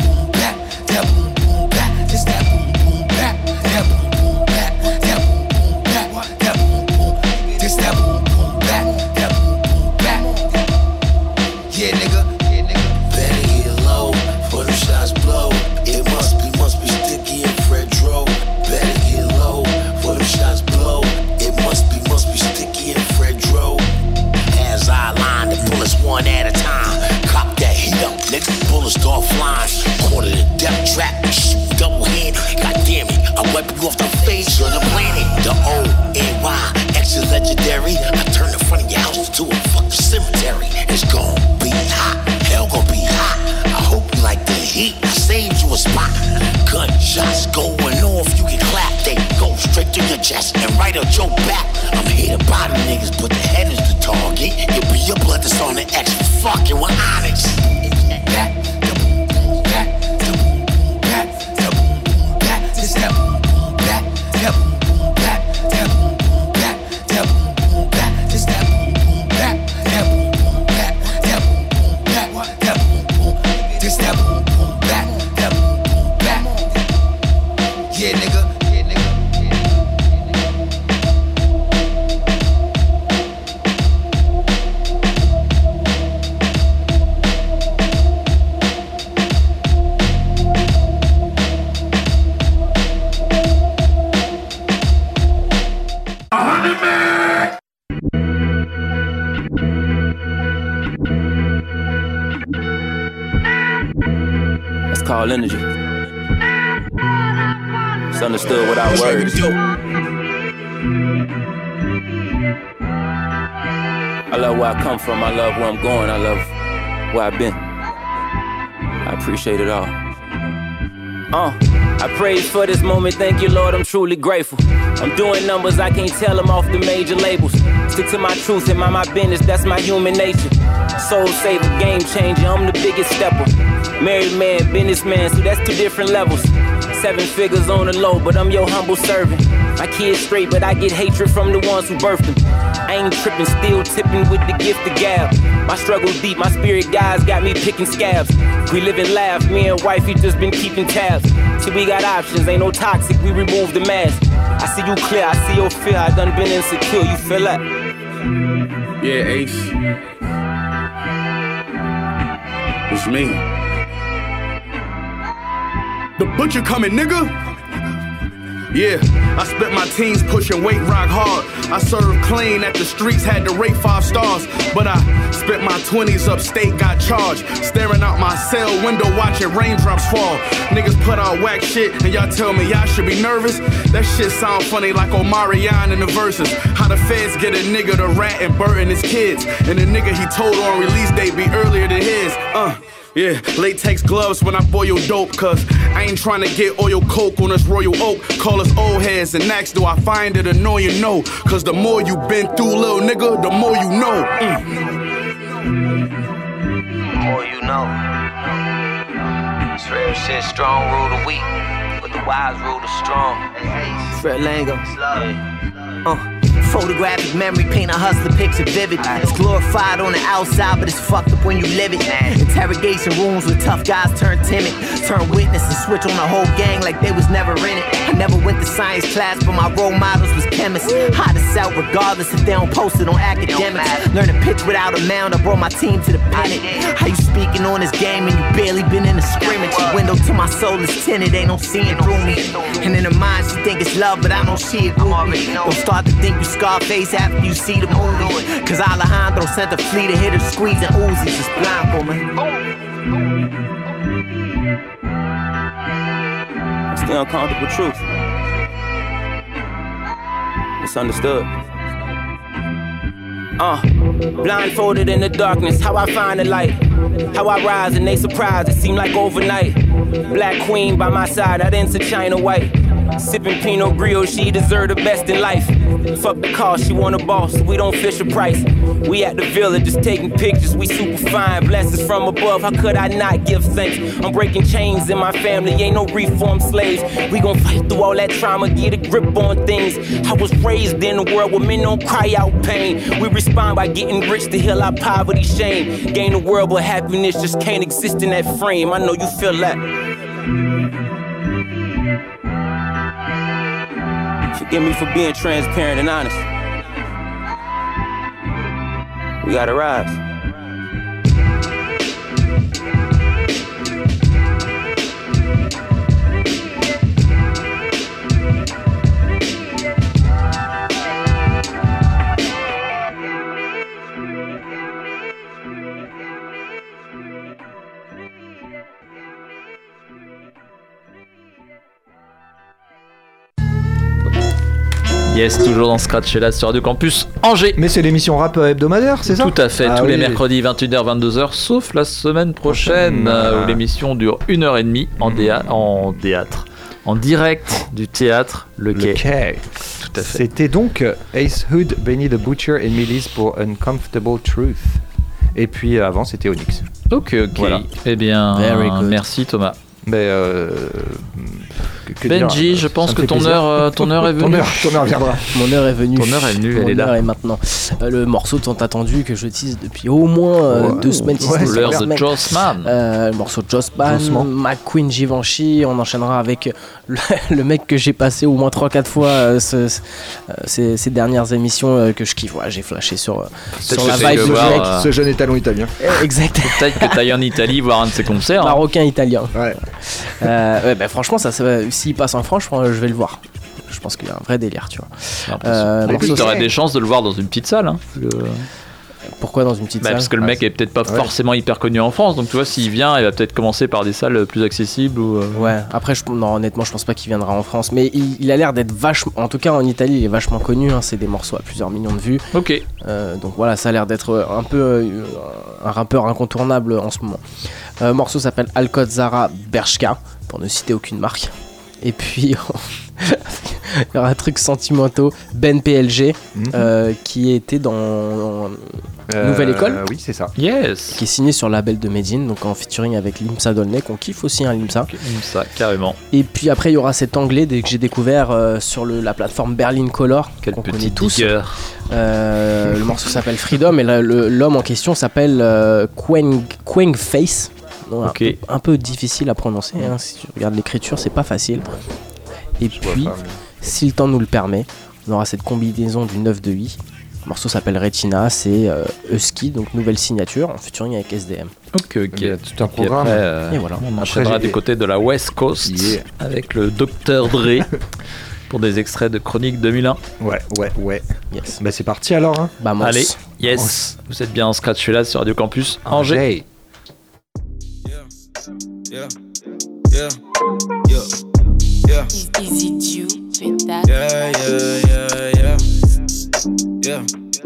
bullets start flying. Caught in a death trap, shoot double handed. God damn it, I wipe you off the face of the planet. The O N Y, extra legendary. I turn the front of your house into a fucking cemetery. It's gon' be hot, hell gon' be hot. I hope you like the heat, I saved you a spot. Gunshots going off, you get clapped. They go straight to your chest and right up your back. I'm here to body niggas, but the head is the target. It'll be your blood that's on the X for fucking with Onyx. Back, the boom, boom, back, the boom, boom, back, the boom, boom, back, this that boom, boom, back, that boom, boom, back, that boom, boom, back, that boom, boom, back, this that boom, boom, back, that boom, boom, back, that boom, boom, back, that boom, boom, this that boom, boom, back, that boom, boom, back. Yeah, nigga. Called energy. It's understood without words. I love where I come from. I love where I'm going. I love where I've been. I appreciate it all. Uh, I praise for this moment. Thank you, Lord. I'm truly grateful. I'm doing numbers. I can't tell them off the major labels. Stick to my truth and mind my business. That's my human nature. Soul saver, game changer. I'm the biggest stepper. Married man, businessman, so that's two different levels. Seven figures on the low, but I'm your humble servant. My kids straight, but I get hatred from the ones who birthed them. I ain't tripping, still tipping with the gift of gab. My struggle deep, my spirit guys got me picking scabs. We live and laugh, me and wifey just been keeping tabs. See, we got options, ain't no toxic, we remove the mask. I see you clear, I see your fear, I done been insecure, you feel that? Yeah, Ace. It's me. The butcher coming, nigga. Yeah, I spent my teens pushing weight rock hard. I served clean at the streets, had to rate five stars. But I spent my twenties upstate, got charged. Staring out my cell window, watching raindrops fall. Niggas put out whack shit, and y'all tell me y'all should be nervous? That shit sound funny like Omarion in the verses. How the feds get a nigga to rat and burden his kids. And the nigga he told on release date be earlier than his. Uh. Yeah, latex gloves when I boil dope, cause I ain't trying to get oil coke on this royal oak. Call us old heads and ask, do I find it annoying? No, cause the more you been through, little nigga, the more you know. Mm. The more you know. It's real shit, strong rule the weak, but the wise rule the strong. Fred Lango. Uh. Photographic memory, paint a hustler picture vivid. It's glorified on the outside, but it's fucked up when you live it. Interrogation rooms with tough guys turn timid. Turn witness and switch on the whole gang like they was never in it. I never went to science class, but my role models was chemists. Hot as out regardless if they don't post it on academics. Learn to pitch without a mound, I brought my team to the pennant. How you speaking on this game and you barely been in the scrimmage? Window to my soul is tinted, they don't see it through me. And in her mind she think it's love, but I don't see it through me. Don't start to think you Scarface after you see the movie. Cause Alejandro sent a fleet of hitters squeezing Uzis. It's blind, man. It's the uncomfortable truth. It's understood. Uh, blindfolded in the darkness, how I find the light. How I rise and they surprised, it seemed like overnight. Black queen by my side, I didn't see China white. Sipping Pinot Grillo, she deserve the best in life. Fuck the cost, she want a boss, we don't fish a price. We at the village, just taking pictures, we super fine. Blessings from above, how could I not give thanks? I'm breaking chains in my family, ain't no reformed slaves. We gon' fight through all that trauma, get a grip on things. I was raised in a world where men don't cry out pain. We respond by getting rich to heal our poverty, shame. Gain the world, but happiness just can't exist in that frame. I know you feel that. Forgive me for being transparent and honest. We gotta rise. Yes, toujours dans Scratch et là sur Radio Campus Angers. Mais c'est l'émission rap hebdomadaire, c'est ça? Tout à fait, ah, tous oui. les mercredis vingt et une heures vingt-deux heures, sauf la semaine prochaine, Mmh. euh, où l'émission dure une heure trente en, déa- en théâtre. En direct du théâtre Le Quai. Le Quai. Tout à fait. C'était donc Ace Hood, Benny the Butcher et Millis pour Uncomfortable Truth. Et puis euh, avant, c'était Onyx. Ok, ok. Voilà. Eh bien, Very good. merci Thomas. Mais euh, que, que Benji, dire, je pense ça me que fait ton plaisir. heure, euh, ton heure est venue. ton, heure, ton heure viendra. Mon heure est venue. Ton heure est venue, Mon elle est là. heure est maintenant. Euh, le morceau tant attendu que je tease depuis au moins euh, Ouais, deux semaines. si ouais, ce n'est l'heure trois de semaines. Jossman. Euh, le morceau de Jossman, Doucement. McQueen, Givenchy. On enchaînera avec le, le mec que j'ai passé au moins trois quatre fois euh, ce, ce, euh, ces, ces dernières émissions euh, que je kiffe. Ouais, j'ai flashé sur, euh, sur la que vibe c'est du de voir, mec. euh, Ce jeune étalon italien. Eh, Exact. Peut-être que t'ailles en Italie voir un de ses concerts. hein. Marocain italien. Ouais. Euh, ouais, bah, franchement, ça, ça, s'il passe en France, je, pense- je vais le voir. Je pense qu'il y a un vrai délire, tu vois. Euh, en plus, morceau- t'aurais des chances de le voir dans une petite salle. Hein, parce que, Pourquoi dans une petite bah, salle parce que le mec est peut-être pas Ouais. forcément hyper connu en France. Donc tu vois, s'il vient, il va peut-être commencer par des salles plus accessibles. Ou, euh, Ouais, après, je, non, honnêtement, je pense pas qu'il viendra en France. Mais il, il a l'air d'être vachement. En tout cas, en Italie, il est vachement connu. Hein, c'est des morceaux à plusieurs millions de vues. Ok. Euh, donc voilà, ça a l'air d'être un peu euh, un rappeur incontournable en ce moment. Euh, le morceau s'appelle Alcozara Bershka, pour ne citer aucune marque. Et puis, il y aura un truc sentimentaux, Ben P L G, Mhm. euh, qui était dans, dans Euh, Nouvelle École, Oui, c'est ça. Yes. qui est signé sur le label de Medine, donc en featuring avec Limsa Dolnay, qu'on kiffe aussi, hein, Limsa. Ça, carrément. Et puis après, il y aura cet anglais dès que j'ai découvert euh, sur le, la plateforme Berlin Color, Quel qu'on connaît petit tous. digger. Euh, le morceau s'appelle Freedom et la- le- l'homme en question s'appelle euh, Quang, Quang Face. Donc, Ok. un, peu, un peu difficile à prononcer, hein, si tu regardes l'écriture, c'est pas facile. Et Je vois puis, pas, si le temps nous le permet, on aura cette combinaison du neuf de i. Le morceau s'appelle Retina, c'est euh, Husky, donc nouvelle signature en featuring avec S D M. Ok, ok. Il y a tout un Et puis programme. après, euh, Et voilà. on Après, enchaînera j'ai- du côté de la West Coast Yeah. avec le docteur Dre pour des extraits de Chronique deux mille un. Ouais, ouais, ouais. Yes. Bah c'est parti alors. Hein. Bah, Allez, yes. Vous êtes bien en Scratch là sur Radio Campus Angers. Angers. Yeah, yeah, yeah, yeah. Is it you with that? Yeah, yeah, yeah, yeah. Yeah.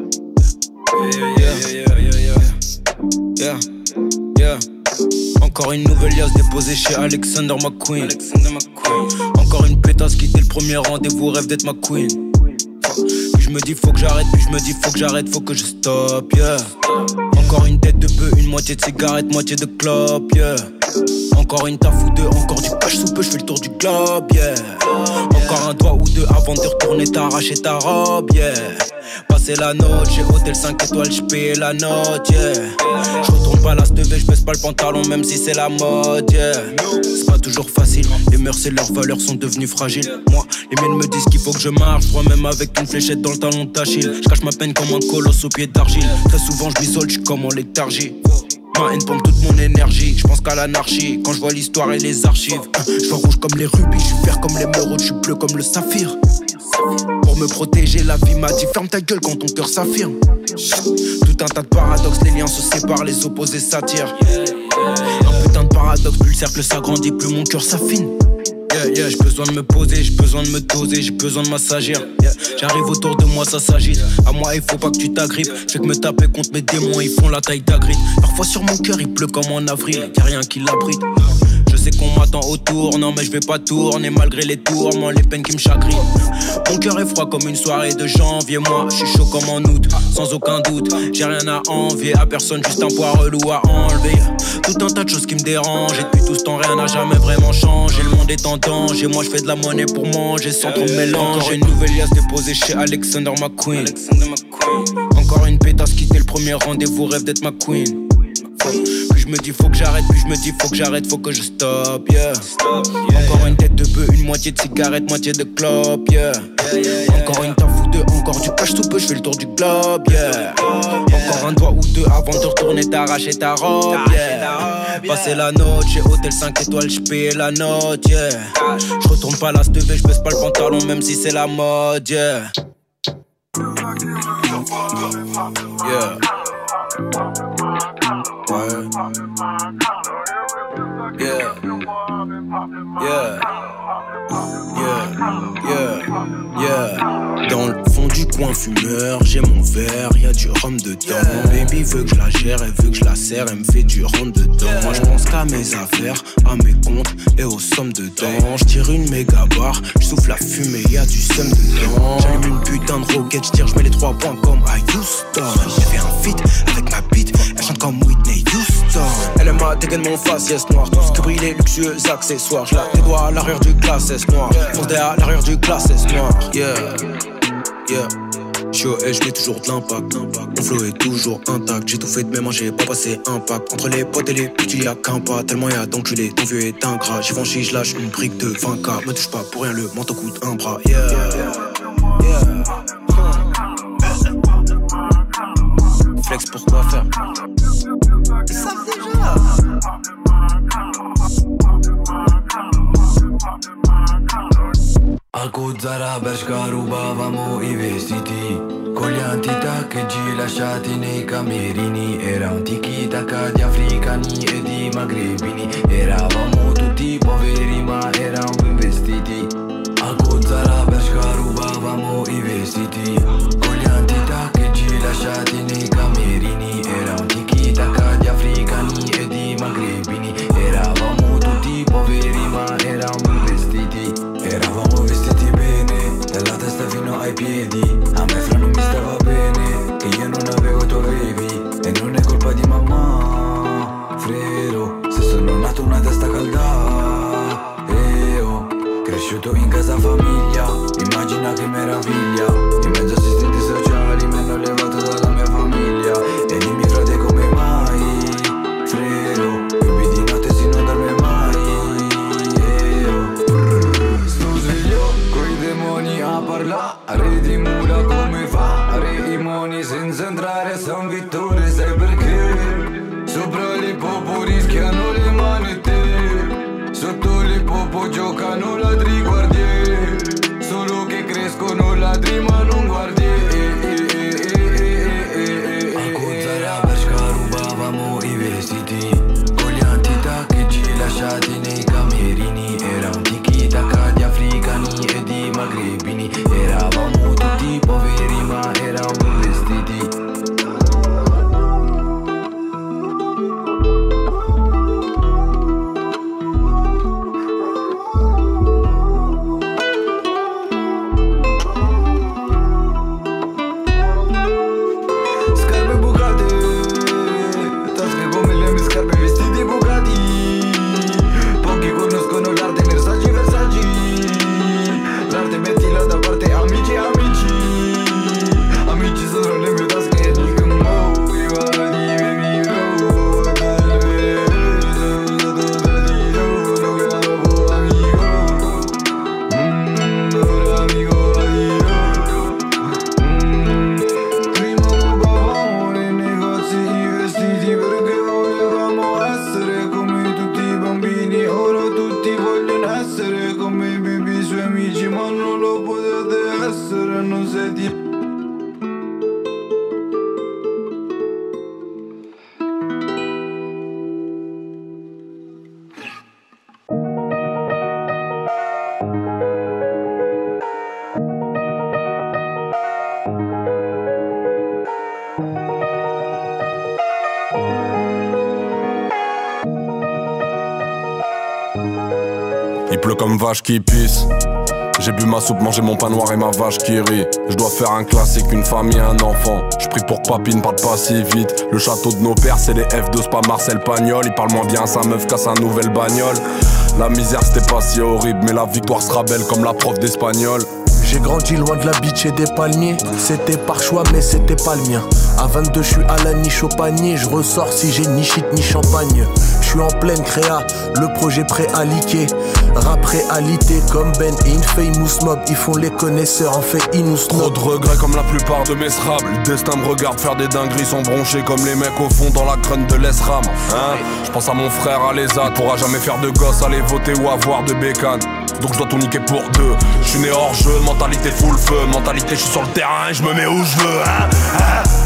Yeah, yeah, yeah, yeah, yeah. Yeah. Encore une nouvelle liasse déposée chez Alexander McQueen. Encore une pétasse qui dès le premier rendez-vous rêve d'être ma queen. Puis je me dis faut que j'arrête, puis je me dis faut que j'arrête, faut que je stop, yeah. Encore une tête de bœuf, une moitié de cigarette, moitié de clope, yeah. Encore une taf ou deux, encore du cash sous peu, je fais le tour du globe, yeah. Encore un doigt ou deux avant de retourner t'arracher ta robe, yeah. Passer la note, j'ai hôtel cinq étoiles, j'paye la note, yeah. J'retourne pas la stevée, j'baisse pas le pantalon même si c'est la mode, yeah. C'est pas toujours facile, les mœurs et leurs valeurs sont devenues fragiles. Moi, les miennes me disent qu'il faut que je marche, moi même avec une fléchette dans le talon d'Achille. J'cache ma peine comme un colosse au pied d'argile. Très souvent j'm'isole, j'suis comme en léthargie. Ma haine pompe toute mon énergie, je pense qu'à l'anarchie. Quand je vois l'histoire et les archives, je vois rouge comme les rubis, je suis vert comme l'émeraude, je suis bleu comme le saphir. Pour me protéger, la vie m'a dit ferme ta gueule quand ton cœur s'affirme. Tout un tas de paradoxes, les liens se séparent, les opposés s'attirent. Un putain de paradoxe, plus le cercle s'agrandit, plus mon cœur s'affine. Yeah, yeah, j'ai besoin de me poser, j'ai besoin de me doser, j'ai besoin de m'assagir. Yeah, j'arrive autour de moi, ça s'agite. À moi, il faut pas que tu t'agrippes. Je fais que me taper contre mes démons, ils font la taille d'Agritte. Parfois sur mon cœur, il pleut comme en avril, y'a rien qui l'abrite. Je sais qu'on m'attend autour, non mais je vais pas tourner malgré les tourments, les peines qui me chagrinent. Mon cœur est froid comme une soirée de janvier, moi je suis chaud comme en août, sans aucun doute. J'ai rien à envier à personne, juste un poids relou à enlever. Tout un tas de choses qui me dérangent, et depuis tout ce temps rien n'a jamais vraiment changé. Le monde est en danger, moi je fais de la monnaie pour manger sans trop me mélanger. Encore une nouvelle liasse déposée chez Alexander McQueen. Encore une pétasse qui dès le premier rendez-vous rêve d'être ma queen. Puis je me dis faut que j'arrête, puis je me dis faut que j'arrête, faut que je stop, yeah. Encore une tête de bœuf, une moitié de cigarette, moitié de clope, yeah. Encore une taf ou deux, encore du cash sous peu, je fais le tour du globe, yeah. Encore un doigt ou deux avant de retourner t'arracher ta robe, yeah. Passer la note, j'ai hôtel cinq étoiles, j'paye la note, yeah. J'retourne pas la stevée, j'baisse pas le pantalon même si c'est la mode, yeah. Yeah. Ouais. Yeah. Yeah. Yeah. Yeah. Yeah. Dans rhum dedans. Mon baby veut que je la gère, elle veut que je la serre, elle me fait du rentre dedans. Moi je pense qu'à mes affaires, à mes comptes et aux sommes dedans. Je tire une méga barre, je souffle la fumée, y'a du seum dedans. J'allume une putain de roquette, je tire, je mets les trois points comme à Houston. J'ai fait un feat avec ma bite, elle chante comme Whitney Houston. Elle aime ma dégaine mon faciès noir, tout ce que brille les luxueux accessoires. Je la débois à l'arrière du classe S noir, fondé à l'arrière du classe S noir. Yeah, yeah. J'suis au H, j'mets toujours de l'impact. Mon flow est toujours intact. J'ai tout fait de mes mains, j'ai pas passé un pack. Entre les potes et les putes, il y a qu'un pas. Tellement y'a d'enculés, ton vieux est ingrat. J'ai franchi, j'lâche une brique de vingt K. Me touche pas pour rien, le manteau coûte un bras. Yeah, yeah. Flex pour quoi faire? Ils savent déjà. Alcuzzara Bershka rubavamo i vestiti con gli antitaccheggi lasciati nei camerini. Era un tiki-taka di africani e di magrebini. Eravamo tutti poveri ma eravamo investiti. Alcuzzara Bershka rubavamo i vestiti con gli antitaccheggi lasciati nei camerini. Era un tiki-taka di africani e di magrebini. Eravamo tutti poveri ma eravamo investiti. Eravamo vestiti bene, dalla testa fino ai piedi. A me fra non mi stava bene, che io non avevo tu avevi. E non è colpa di mamma, frero. Se sono nato una testa calda, e ho cresciuto in casa famiglia. Immagina che meraviglia, in mezzo assistenti sociali mi hanno levato dalla mia famiglia. E dimmi frate come mai, frero. Bevi di notte si non dorme mai. A parlare di mura come fare i moni senza entrare a San Vittore. Sai perché? Sopra l'ippopo rischiano le manette, sotto l'ippopo giocano ladri guardie. Solo che crescono ladri ma non guardie. Alcuzzara Bershka rubavamo i vestiti con gli antitaccheggi lasciati nei camerini. Era un tiki-taka di africani e di magrebini. Eravamo tutti poveri ma eravamo investiti. Scarpe bucate, tasche come le mie scarpe, vestiti bucati. Pochi conoscono l'arte, Versace, Versace. L'arte mettila da parte, amici, amici. Amici sono le mie tasche, dico mo, viva di baby, oh. Lo grabo amico, mmm, ora amico, addio. Prima rubavamo nei negozi i vestiti perché volevamo essere come tutti i bambini. Ora tutti vogliono essere come i baby, i suoi amici, ma non lo potete essere, non siete. Il pleut comme vache qui pisse. J'ai bu ma soupe, mangé mon pain noir et ma vache qui rit. Je dois faire un classique, une famille, un enfant. Je prie pour que papy ne parle pas si vite. Le château de nos pères, c'est les F deux, c'est pas Marcel Pagnol. Il parle moins bien à sa meuf qu'à sa nouvelle bagnole. La misère c'était pas si horrible, mais la victoire sera belle comme la prof d'espagnol. J'ai grandi loin de la bitch et des palmiers. C'était par choix mais c'était pas le mien. À vingt-deux je suis à la niche au panier. Je ressors si j'ai ni shit ni champagne. Je suis en pleine créa, le projet prêt à liquer. Rap réalité comme Ben et Infamous Mob. Ils font les connaisseurs, en fait ils nous snob. Trop de regrets comme la plupart de mes srables. Le destin me regarde faire des dingueries, sont bronchés comme les mecs au fond dans la crâne de l'Esram. Hein, je pense à mon frère à l'Ezad. Pourra jamais faire de gosse, aller voter ou avoir de bécane. Donc je dois tout niquer pour deux. Je suis né hors jeu, mentalité full feu. Mentalité je suis sur le terrain et je me mets où je veux. Hein, hein. Gros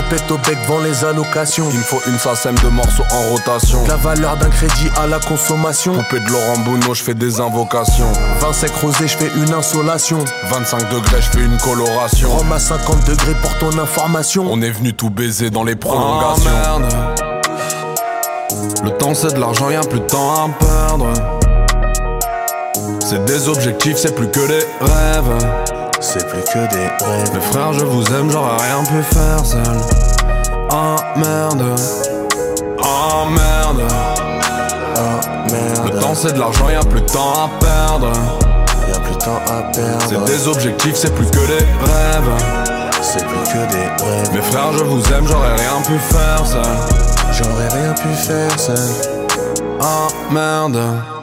répète au bec devant les allocations. Il me faut une sacème de morceaux en rotation. La valeur d'un crédit à la consommation. Poupée de Laurent Bounot, je fais des invocations. vingt sec rosé, je fais une insolation. vingt-cinq degrés, je fais une coloration. Rome à cinquante degrés pour ton information. On est venu tout baiser dans les prolongations. Oh, merde. Le temps c'est de l'argent, y'a plus de temps à perdre. C'est des objectifs, c'est plus que des rêves. C'est plus que des rêves. Mes frères, je vous aime, j'aurais rien pu faire seul. Oh merde. Oh merde. Oh merde. Le temps c'est de l'argent, y'a plus de temps à perdre. Y'a plus de temps à perdre. C'est des objectifs, c'est plus que des rêves. C'est plus que des rêves. Mes frères, je vous aime, j'aurais rien pu faire seul. J'aurais rien pu faire seul. Oh merde.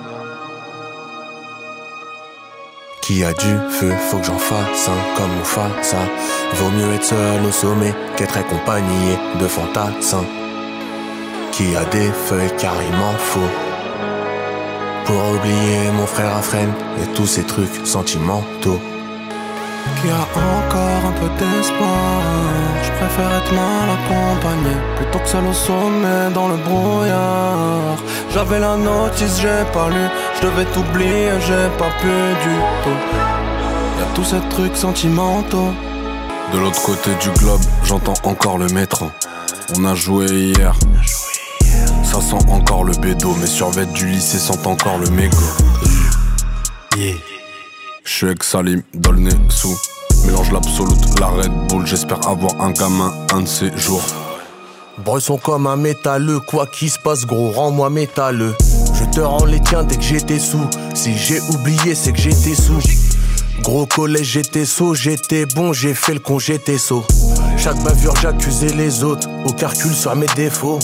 Qui a du feu, faut que j'en fasse un comme on fasse ça. Vaut mieux être seul au sommet qu'être accompagné de fantassins. Qui a des feuilles car il m'en faut pour oublier mon frère à freine et tous ces trucs sentimentaux. Qui a encore un peu d'espoir. Je préfère être mal accompagné plutôt que seul au sommet dans le brouillard. J'avais la notice, j'ai pas lu. Je devais t'oublier, j'ai pas pu du tout. Y'a tous ces trucs sentimentaux. De l'autre côté du globe, j'entends encore le métro. On a joué hier. Ça sent encore le bédo. Mes survêtements du lycée sentent encore le mégot. Yeah. J'suis avec Salim, dans le nez sous. Mélange l'absolute, la Red Bull. J'espère avoir un gamin un de ces jours. Bresson comme un métalleux, quoi qu'il se passe gros, rends-moi métalleux. Je te rends les tiens dès que j'étais sous. Si j'ai oublié c'est que j'étais sous. Gros collège j'étais sot, j'étais bon, j'ai fait le con, j'étais sot. Chaque bavure j'accusais les autres, au calcul sur mes défauts.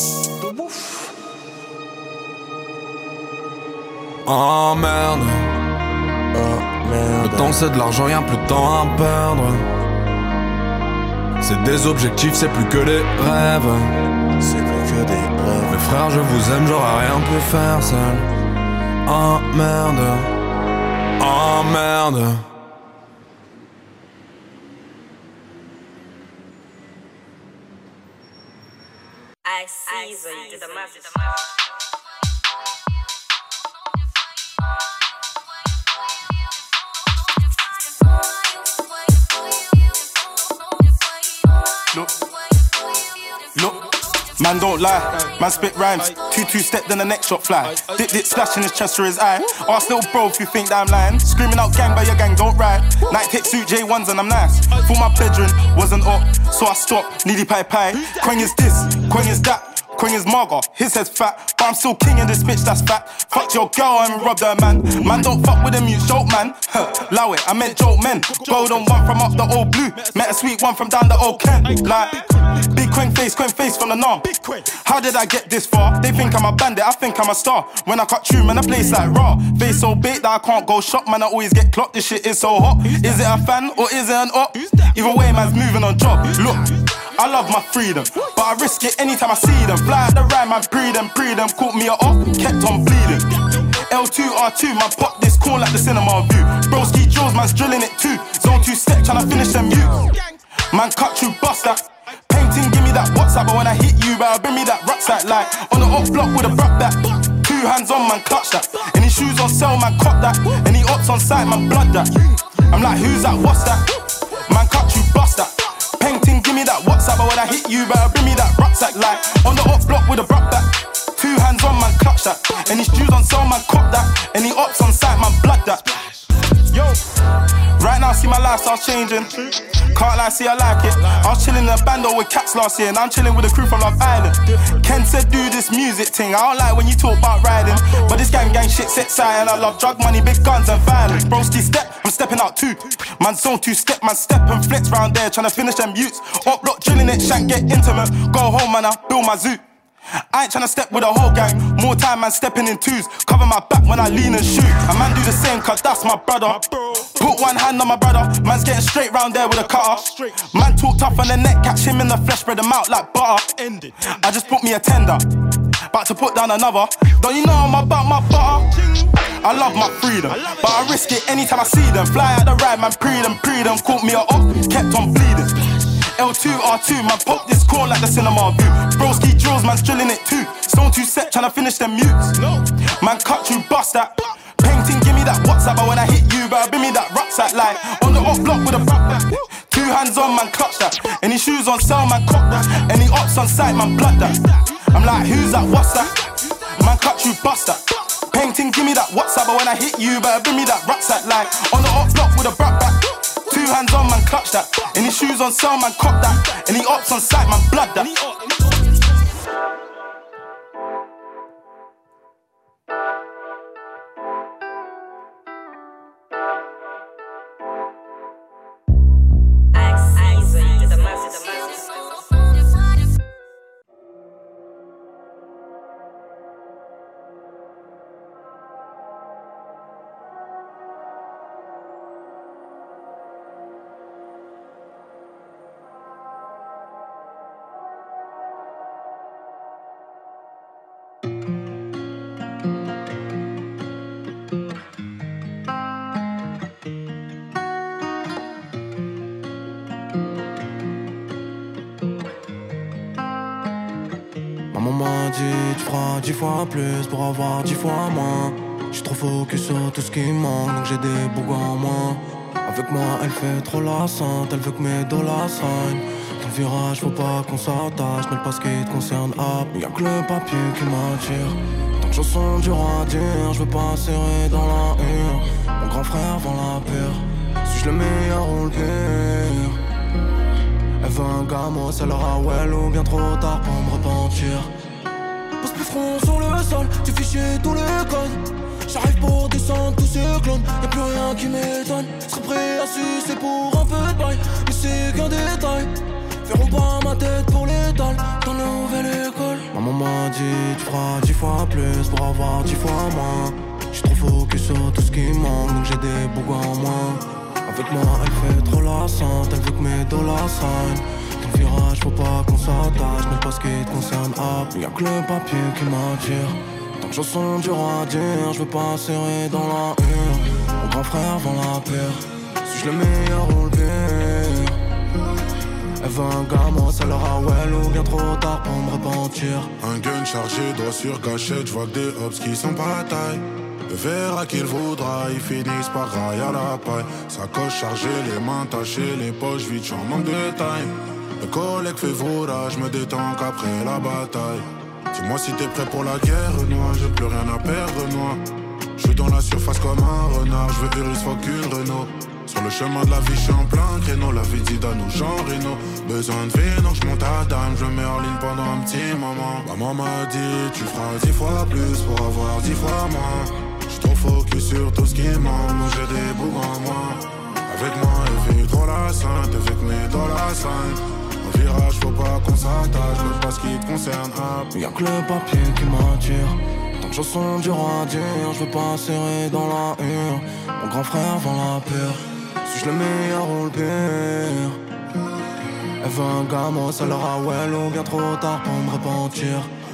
Oh merde. Oh merde. Le temps c'est de l'argent, y'a plus de temps à perdre. C'est des objectifs, c'est plus que des rêves. C'est plus que des rêves. Mes frères, je vous aime, j'aurais rien pu faire seul. Oh merde. Oh merde. I see you did the message. Look, look, man don't lie, man spit rhymes. Two two step then the next shot fly. Dip dip splash in his chest or his eye. Ask little bro if you think that I'm lying. Screaming out gang by your gang don't ride. Night tech suit J ones and I'm nice. Thought my bedroom wasn't up, so I stopped. Needy pie pie. Quang is this, Quang is that. Queen is Marga, his head's fat, but I'm still king in this bitch that's fat. Fucked your girl and robbed her man. Man don't fuck with them, you joke man. Allow it, I meant joke men. Golden one from up the old blue, met a sweet one from down the old Kent. Like big Queen face, Queen face from the norm. How did I get this far? They think I'm a bandit, I think I'm a star. When I cut true, man, I place like raw. Face so big that I can't go shop, man, I always get clocked. This shit is so hot. Is it a fan or is it an op? Either way, man's moving on job. Look, I love my freedom, but I risk it anytime I see them. Fly at the rhyme, man, pre them, pre them. Caught me a up, kept on bleeding. L two R two, man, pop this cool like the cinema view. Broski Jules, man's drilling it too. Zone two step, tryna finish them you. Man, cut through, bust that. Painting, give me that WhatsApp, but when I hit you, better bring me that rucksack. Like on the up block with a bruck back. Two hands on, man, clutch that. Any shoes on sale, man, cop that. Any ops on site, man, blood that. I'm like, who's that? What's that? Man, cut through, bust that. Painting, give me that WhatsApp, but when I hit you, better bring me that rucksack. Like on the up block with a bruck back. Two hands on, man, clutch that. Any shoes on sale, man, cop that. Any ops on site, man, blood that. Yo, right now, see my lifestyle changing. Can't lie, see I like it. I was chilling in a bando with cats last year, and I'm chilling with a crew from Love Island. Ken said do this music thing. I don't like when you talk about riding, but this gang gang shit set side, and I love drug money, big guns and violence. Broski step, I'm stepping out too. Man zone two step, man step and flex round there, trying to finish them youths. Up block drilling it, shank get intimate. Go home, man, I build my zoo. I ain't tryna step with a whole gang. More time, man, stepping in twos. Cover my back when I lean and shoot. A man do the same, cause that's my brother. Put one hand on my brother. Man's getting straight round there with a cutter. Man talk tough on the neck, catch him in the flesh, spread him out like butter. I just put me a tender, about to put down another. Don't you know I'm about my butter? I love my freedom, but I risk it anytime I see them. Fly out the ride, man, pre them, pre them. Caught me a up, kept on bleeding. L two R two, man, pop this corn like the cinema view. Broski drills, man's drilling it too. Zone two set, tryna finish them mutes. Man, cut you, bust that. Painting, give me that WhatsApp, but when I hit you, better bring me that rucksack. Like on the off block with a backpack. Two hands on, man, clutch that. Any shoes on sale, man, cock that. Any ops on site, man, blood that. I'm like, who's that? What's that? Man, cut you, bust that. Painting, give me that WhatsApp, but when I hit you, better bring me that rucksack. Like on the off block with a backpack. Two hands on, man, clutch that. Any shoes on sale, man, cock that. Any ops on site, man, blood that. Maman m'a dit tu feras dix fois plus pour avoir dix fois moins. J'suis trop focus sur tout ce qui manque, donc j'ai des bougs en moins. Avec moi elle fait trop la sainte, elle veut que mes dollars saignent. Dans le virage faut pas qu'on s'attache, mais pas ce qui te concerne hop. Y'a que le papier qui m'attire. Tant que chanson dur à dire, j'veux pas serrer dans la hure. Mon grand frère vend la pure, suis-je le meilleur ou le pire? Elle veut un gamin, ça leur a well ou bien trop tard pour me repentir. Pose plus front sur le sol, tu fichier tous les codes. J'arrive pour descendre tous ces clones, y'a plus rien qui m'étonne. Serais prêt à sucer pour un peu de bail, mais c'est qu'un détail. Verront pas ma tête pour l'étal dans la nouvelle école. Maman m'a dit tu feras dix fois plus pour avoir dix fois moins. J'suis trop focus sur tout ce qui manque, donc j'ai des bougs en moins. Avec moi elle fait trop la sainte, elle veut que mes dollars saignent. Dans le virage faut pas qu'on s'attache, mais pas ce qui te concerne hop. Y'a que le papier qui m'attire. Tant que chanson dur à dire, j'veux pas serrer dans la hure. Mon grand frère vend la pure, suis-je le meilleur ou le pire? Elle veut un gamin, ça leur a well ou bien trop tard pour me repentir. Un gun chargé, droit sur gâchette, j'vois que des hops qui sont pas taille. Le verra qu'il voudra, ils finissent par railler à la paille. Sacoche chargée, les mains tachées, les poches vides, j'en manque de taille. Le collègue fait vroura, j'me détends qu'après la bataille. Dis-moi si t'es prêt pour la guerre, noir, j'ai plus rien à perdre, noir. J'suis dans la surface comme un renard, j'veux Urus, fuck une Renault. Sur le chemin de la vie, j'suis en plein créneau, la vie dit à nous, Jean Reno. Besoin de vie, donc j'monte à dame, je mets en ligne pendant un petit moment. Maman m'a dit, tu feras dix fois plus pour avoir dix fois moins. J'suis trop focus sur tout ce qui manque, donc j'ai des bougs en moi. Avec moi, elle fait trop la sainte, elle fait que mes dollars saignent. Au virage, faut pas qu'on s'attache, mais pas ce qui te concerne hop. Y'a que le papier qui m'attire. Tant que chanson dur à dire, j'veux pas serrer dans la hure. Mon grand frère vend la pure, suis-je le meilleur ou le pire? Elle veut un gamin, ça leur a well ou bien trop tard pour me repentir.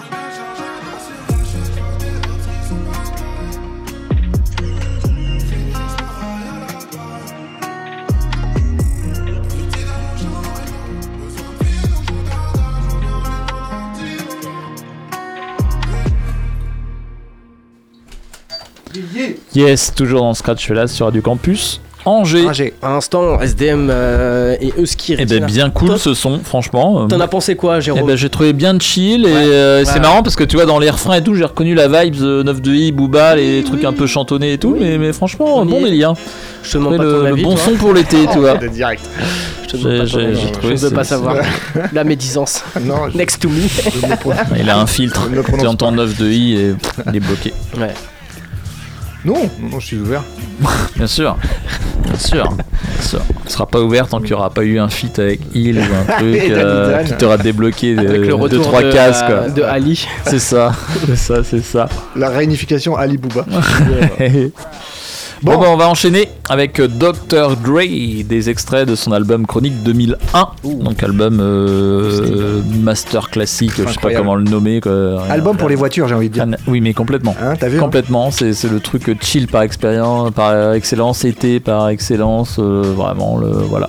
Yes, toujours dans Scratch Fellas sur Radio Campus Angers. Angers. À l'instant, S D M euh, et Euskir. Eh ben bien cool ce son, franchement. T'en as pensé quoi, Jérôme? Eh ben j'ai trouvé bien chill et ouais. euh, ouais. C'est marrant parce que tu vois dans les refrains et tout, j'ai reconnu la vibes euh, neuf de i, Booba, les oui, trucs oui. un peu chantonnés et tout, oui. mais, mais franchement, On bon délire. Je te demande pas le, ton avis, le bon toi. son pour l'été, tu vois. De direct. Je te demande pas ton avis. Je ne veux pas savoir. La médisance. Non, je... Next to me. Il a un filtre. Tu entends neuf de i et il est bloqué. Ouais. Non, non, je suis ouvert. Bien sûr, bien sûr, bien sûr. Tu seras pas ouvert tant qu'il n'y aura pas eu un feat avec Il ou un truc euh, qui t'aura débloqué deux trois cases quoi. De Ali. C'est ça, c'est ça, c'est ça. La réunification Ali Booba. Bon, bon bah on va enchaîner avec docteur Dre, des extraits de son album Chronique deux mille un. Ouh. Donc album euh, master classique, je sais pas comment le nommer quoi. Album pour les voitures, j'ai envie de dire. Oui mais complètement. Hein, t'as vu, complètement, hein c'est, c'est le truc chill par expérience, par excellence, été par excellence, euh, vraiment le voilà.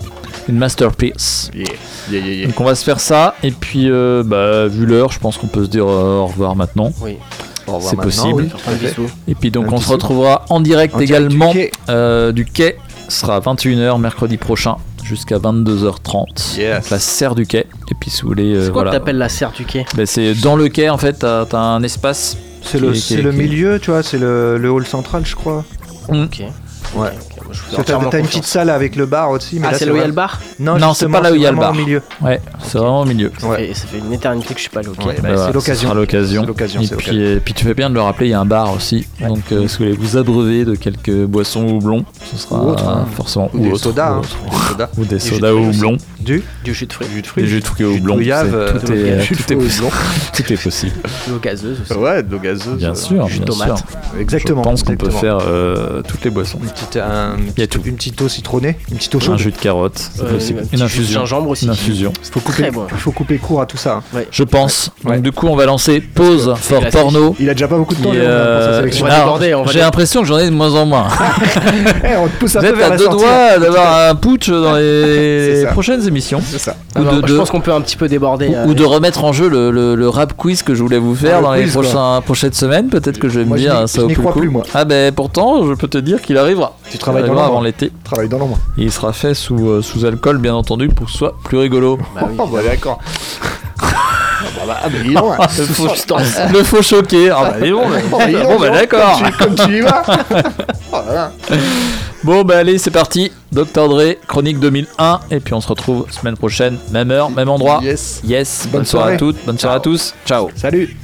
une masterpiece. Yeah. Yeah, yeah, yeah. Donc on va se faire ça, et puis euh, bah, vu l'heure, je pense qu'on peut se dire euh, au revoir maintenant. Oui. Au revoir C'est maintenant, possible. oui. Et puis donc Un on se bisou. retrouvera en direct En direct également du quai. euh, du quai. Ce sera à vingt et une heures mercredi prochain jusqu'à vingt-deux heures trente. Yes. La serre du quai. Et puis si vous voulez, euh, C'est quoi voilà. que t'appelles la serre du quai? Ben, c'est dans le quai en fait, t'as, t'as un espace. C'est qui le, est- qui c'est est- le qui est- milieu, tu vois, c'est le, le hall central, je crois. Mm. Ok. Ouais. Je vous fais Parce que t'as, entièrement t'as une confiance. petite salle avec le bar aussi. Mais Ah, là, c'est là où il y a vrai- le bar? Non, Non, c'est justement, pas là où il y a le vraiment bar. au milieu. Ouais, c'est vraiment au milieu. Ça, Ouais. fait, ça fait une éternité que je suis pas allé au quai. Ouais, bah, Bah, voilà, c'est l'occasion. Ce sera l'occasion. C'est l'occasion, Et c'est puis, l'occasion. euh, puis tu fais bien de le rappeler, il y a un bar aussi. Donc euh, si vous voulez vous abreuver de quelques boissons ou houblons, ce sera Ou autre, hein. forcément Ou des autre, sodas, ou hein. autre. Des sodas. Ou des Des jus de sodas au fruits aussi. houblon. Du Du jus de fruits. jus de fruits. Des jus de fruits au Jus de houblon. goyave, c'est- euh, Tout de est jus de tout est fruits au possible. houblon. Tout est possible. De l'eau gazeuse aussi. Ouais, de l'eau gazeuse. Bien euh, sûr, jus de bien tomate. sûr. Exactement. Je pense qu'on peut exactement. faire euh, toutes les boissons. Une petite, un, Il y a tout. une petite eau citronnée, une petite eau Un chaude. jus de carotte, c'est Euh, possible. un petit Une jus de infusion. gingembre aussi. Une infusion. Il faut couper, Très bon. il faut couper court à tout ça. hein. Je pense. Ouais. Donc du coup, on va lancer pause for classique. porno. Il a déjà pas beaucoup de temps Et, Léon, là, pour sa euh, sélection. On va alors, déborder, on va j'ai dé- l'impression que j'en ai de moins en moins. Eh, on te pousse un Vous peu êtes vers à la deux sortie. doigts d'avoir un putsch dans C'est les ça. prochaines émissions. C'est ça. Ou Alors, de, je de- pense qu'on peut un petit peu déborder. ou- euh, ou de remettre en jeu le, le- le rap quiz que je voulais vous faire Ah, le dans les quiz, quoi. prochains, prochaines semaines. Peut-être que je vais Moi, me je dire n'y- ça je vaut n'y plus le crois coup. plus, moi. Ah ben pourtant, je peux te dire qu'il arrivera. Tu travailles Il dans arrivera l'ombre. avant l'été. Travaille dans l'ombre. Et il sera fait sous, euh, sous alcool, bien entendu, pour que ce soit plus rigolo. Bah oui. Oh, bah d'accord. Ah bah, ah bah, dis donc, le, faux, le faux choqué. Ah bah, dis donc, bah, Oh, dis donc, bon, bah, dis donc, d'accord. Comme tu, comme tu y vas. Oh là là. Bon, bah allez, c'est parti. docteur Dre, chronique deux mille un. Et puis on se retrouve semaine prochaine, même heure, même endroit. Yes. Yes. Bonne, Bonne soirée à soirée. toutes, bonne soirée à tous. Ciao. Salut.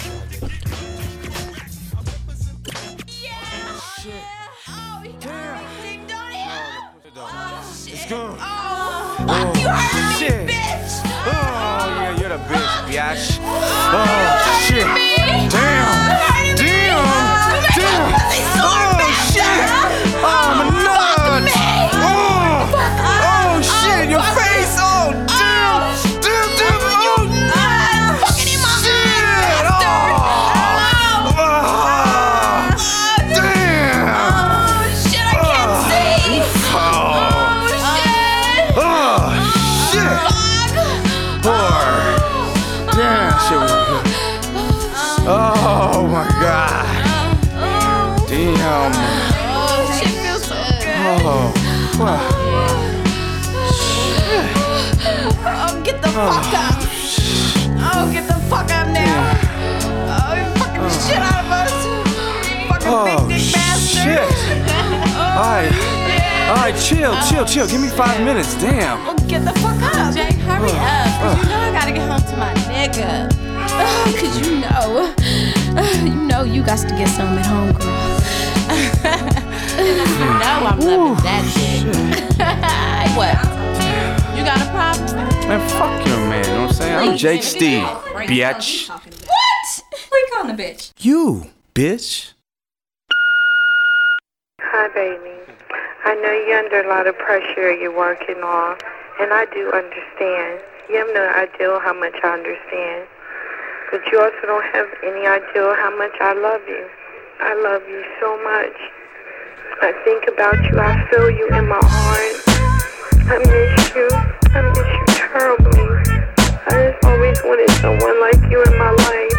Shit. Oh, yeah, you're the bitch, biatch. Oh, shit. Damn. Damn. Damn. Oh, shit. Oh, my nuts. Oh. Oh, shit. Your face. Oh, damn. Damn, damn. Oh, shit. Oh. Oh. Damn. Oh, shit. Boy. Damn, shit was good. Oh my god. Damn. Oh, wow. Oh, get the fuck up. Oh, get the fuck up now. Oh, you fucking the shit out of us. Fucking Oh, big dick bastard. shit. Alright. Alright, chill, chill, chill. Give me five minutes. Damn. Oh, get the fuck up. Jay, hurry up. Cause you know I gotta get home to my nigga. Oh, cause you know. uh, You know you got to get some at home, girl. You know I'm loving that shit. What? You got a problem? Man, fuck your man, you know what I'm saying? I'm Jake Steve, bitch. What? We calling the bitch. You, bitch. Hi, baby. I know you're under a lot of pressure you're working on, and I do understand. You have no idea how much I understand. But you also don't have any idea how much I love you. I love you so much. I think about you. I feel you in my heart. I miss you. I miss you terribly. I just always wanted someone like you in my life.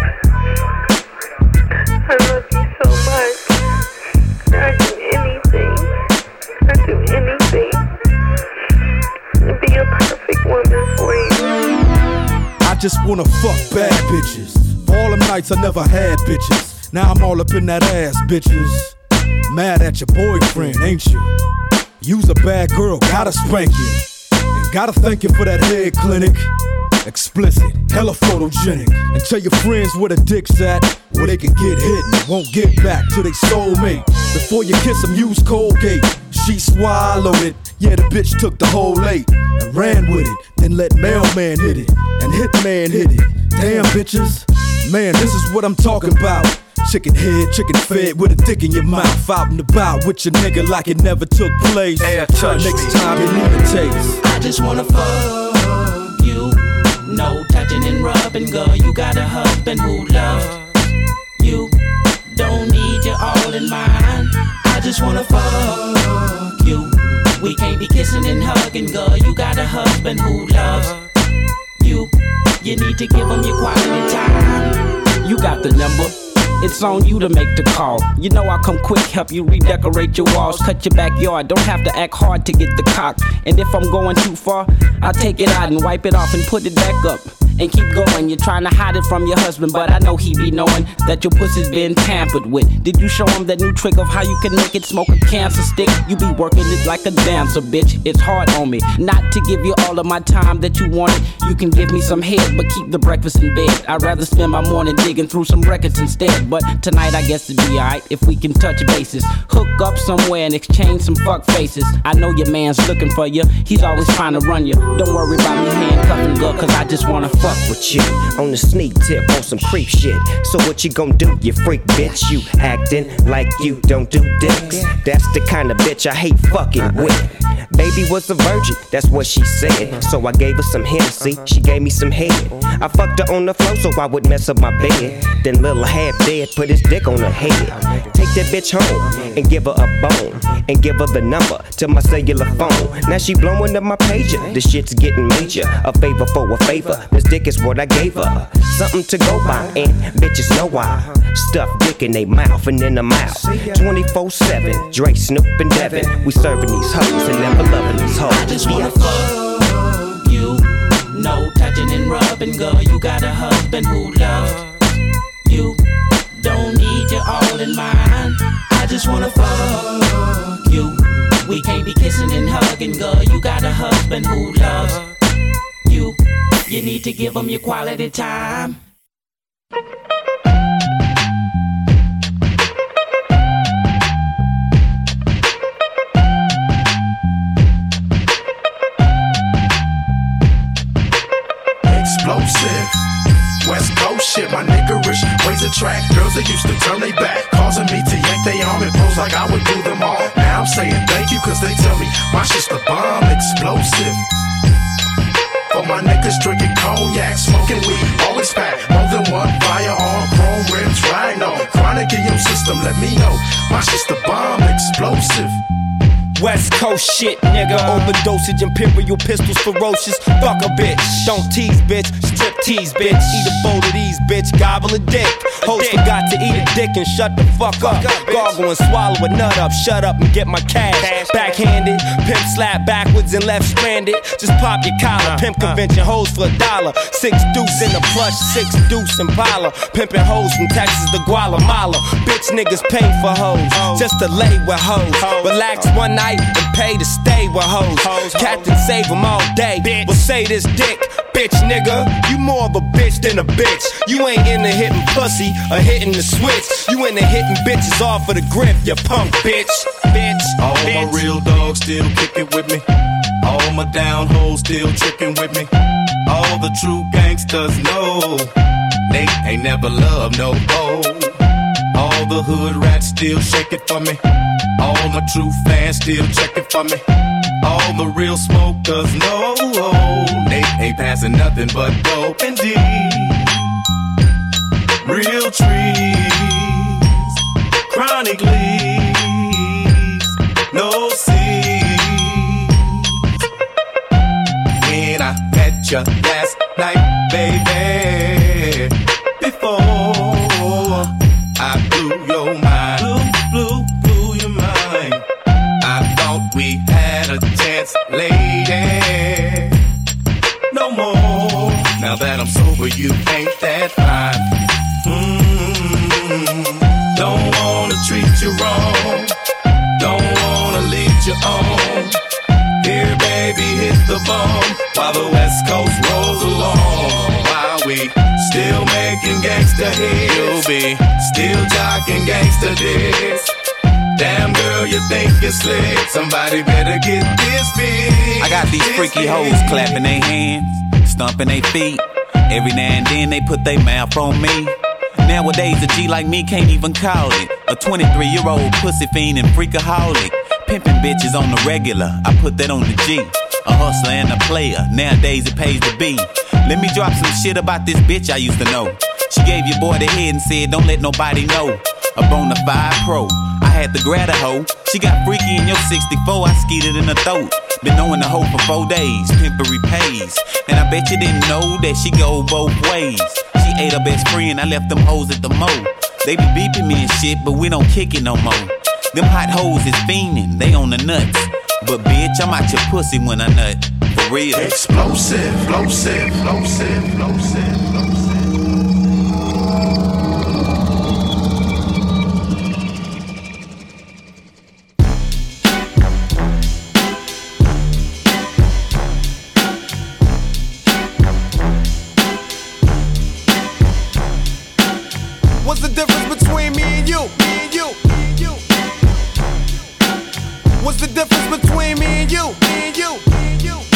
I love you so much. I'd do anything. I'd do anything to be a perfect woman for you. I just wanna fuck bad bitches. For all them nights I never had bitches. Now I'm all up in that ass, bitches. Mad at your boyfriend, ain't you? You's a bad girl, gotta spank you. And gotta thank you for that head clinic. Explicit, hella photogenic. And tell your friends where the dick's at, where they can get hit and won't get back to their soulmate. Before you kiss them, use Colgate. She swallowed it. Yeah, the bitch took the whole eight and ran with it. Then let mailman hit it and hitman hit it. Damn bitches, man, this is what I'm talking about. Chicken head, chicken fed with a dick in your mouth. Out and about with your nigga like it never took place. Hey, touch Next me. time you leave a taste. I just wanna fuck you. No touching and rubbing, girl. You got a husband who loves you. Don't need you all in mine. I just wanna fuck you. We can't be kissing and hugging, girl. You got a husband who loves you. You need to give him your quality time. You got the number. It's on you to make the call. You know I'll come quick, help you redecorate your walls, cut your backyard. Don't have to act hard to get the cock. And if I'm going too far, I'll take it out and wipe it off and put it back up. And keep going, you're trying to hide it from your husband, but I know he be knowing that your pussy's been tampered with. Did you show him that new trick of how you can make it smoke a cancer stick? You be working it like a dancer, bitch. It's hard on me not to give you all of my time that you wanted. You can give me some head, but keep the breakfast in bed. I'd rather spend my morning digging through some records instead. But tonight I guess it'd be alright if we can touch bases. Hook up somewhere and exchange some fuck faces. I know your man's looking for you, he's always trying to run you. Don't worry about me handcuffing, girl, cause I just wanna fuck with you. On the sneak tip on some creep shit. So what you gon' do, you freak bitch? You acting like you don't do dicks. That's the kind of bitch I hate fucking with. Baby was a virgin, that's what she said. So I gave her some Hennessy, she gave me some head. I fucked her on the floor so I would mess up my bed. Then little half dead put his dick on her head. Take that bitch home and give her a bone. And give her the number to my cellular phone. Now she blowing up my pager, the shit's getting major. A favor for a favor, this dick is what I gave her. Something to go by, and bitches know why. Stuff dick in they mouth and in the mouth. twenty-four seven, Dre, Snoop, and Devin. We serving these hoes and never loving these hoes. I just wanna fuck you. No touching and rubbing, girl. You got a husband who loves you. Don't need you all in mine. I just wanna fuck you. We can't be kissing and hugging, girl. You got a husband who loves you. You need to give him your quality time. Explosive, West Coast shit, my niggerish ways attract girls that used to turn they back, causing me to yank they arm and pose like I would do them all. Now I'm saying thank you cause they tell me my shit's the bomb. Explosive, for my niggas drinking cognac, smoking weed, always pack more than one firearm, chrome rims, rhino, chronic in your system, let me know my shit's the bomb. Explosive, West Coast shit, nigga. Overdosage, imperial pistols, ferocious. Fuck a bitch. Don't tease, bitch. Strip tease, bitch. Eat a bowl of these, bitch. Gobble a dick. Host forgot to eat a dick and shut the fuck up. Gargle and swallow a nut up. Shut up and get my cash. Backhanded. Pimp slap backwards and left stranded. Just pop your collar. Pimp convention hoes for a dollar. Six deuce in the plush. Six deuce in Impala. Pimping hoes from Texas to Guatemala. Bitch niggas pay for hoes. Just to lay with hoes. Relax one night and pay to stay with hoes. Captain save them all day. Well say this dick, bitch nigga. You more of a bitch than a bitch. You ain't into hitting pussy or hitting the switch. You into hitting bitches off of the grip, you punk bitch. Bitch. all bitch. My real dogs still kicking with me. All my down hoes still tricking with me. All the true gangsters know they ain't never loved no hoe. All the hood rats still shake it for me. All my true fans still check it for me. All the real smokers know they ain't passing nothing but dope and D. Real trees, chronic leaves, no seeds. When I met you last night, baby, before I blew your mind, blew, blew, blew your mind. I thought we had a chance, lady. No more. Now that I'm sober, you ain't that fine. Mm-hmm. Don't wanna treat you wrong. Don't wanna lead you on. Here, baby, hit the bomb while the West Coast rolls along. While we still making gangsta hits, you'll be still jocking gangsta dicks. Damn girl, you think you're slick. Somebody better get this big. I got these freaky hoes clapping their hands, stomping their feet. Every now and then they put their mouth on me. Nowadays a G like me can't even call it a twenty-three year old pussy fiend and freakaholic. Pimping bitches on the regular, I put that on the G. A hustler and a player, nowadays it pays to be. Let me drop some shit about this bitch I used to know. She gave your boy the head and said don't let nobody know. a bona fide pro. I had to grab a hoe. She got freaky in your sixty-four, I skeeted in her throat. Been knowing the hoe for four days, pimpery pays. And I bet you didn't know that she go both ways. She ate her best friend, I left them hoes at the mo. They be beeping me and shit, but we don't kick it no more. Them hot hoes is fiending, they on the nuts. But bitch, I'm out your pussy when I nut. For real. Explosive, explosive, explosive, explosive, explosive. What's the difference between me and you? Me and you. Me and you. What's the difference between me and you? Me and you. Me and you.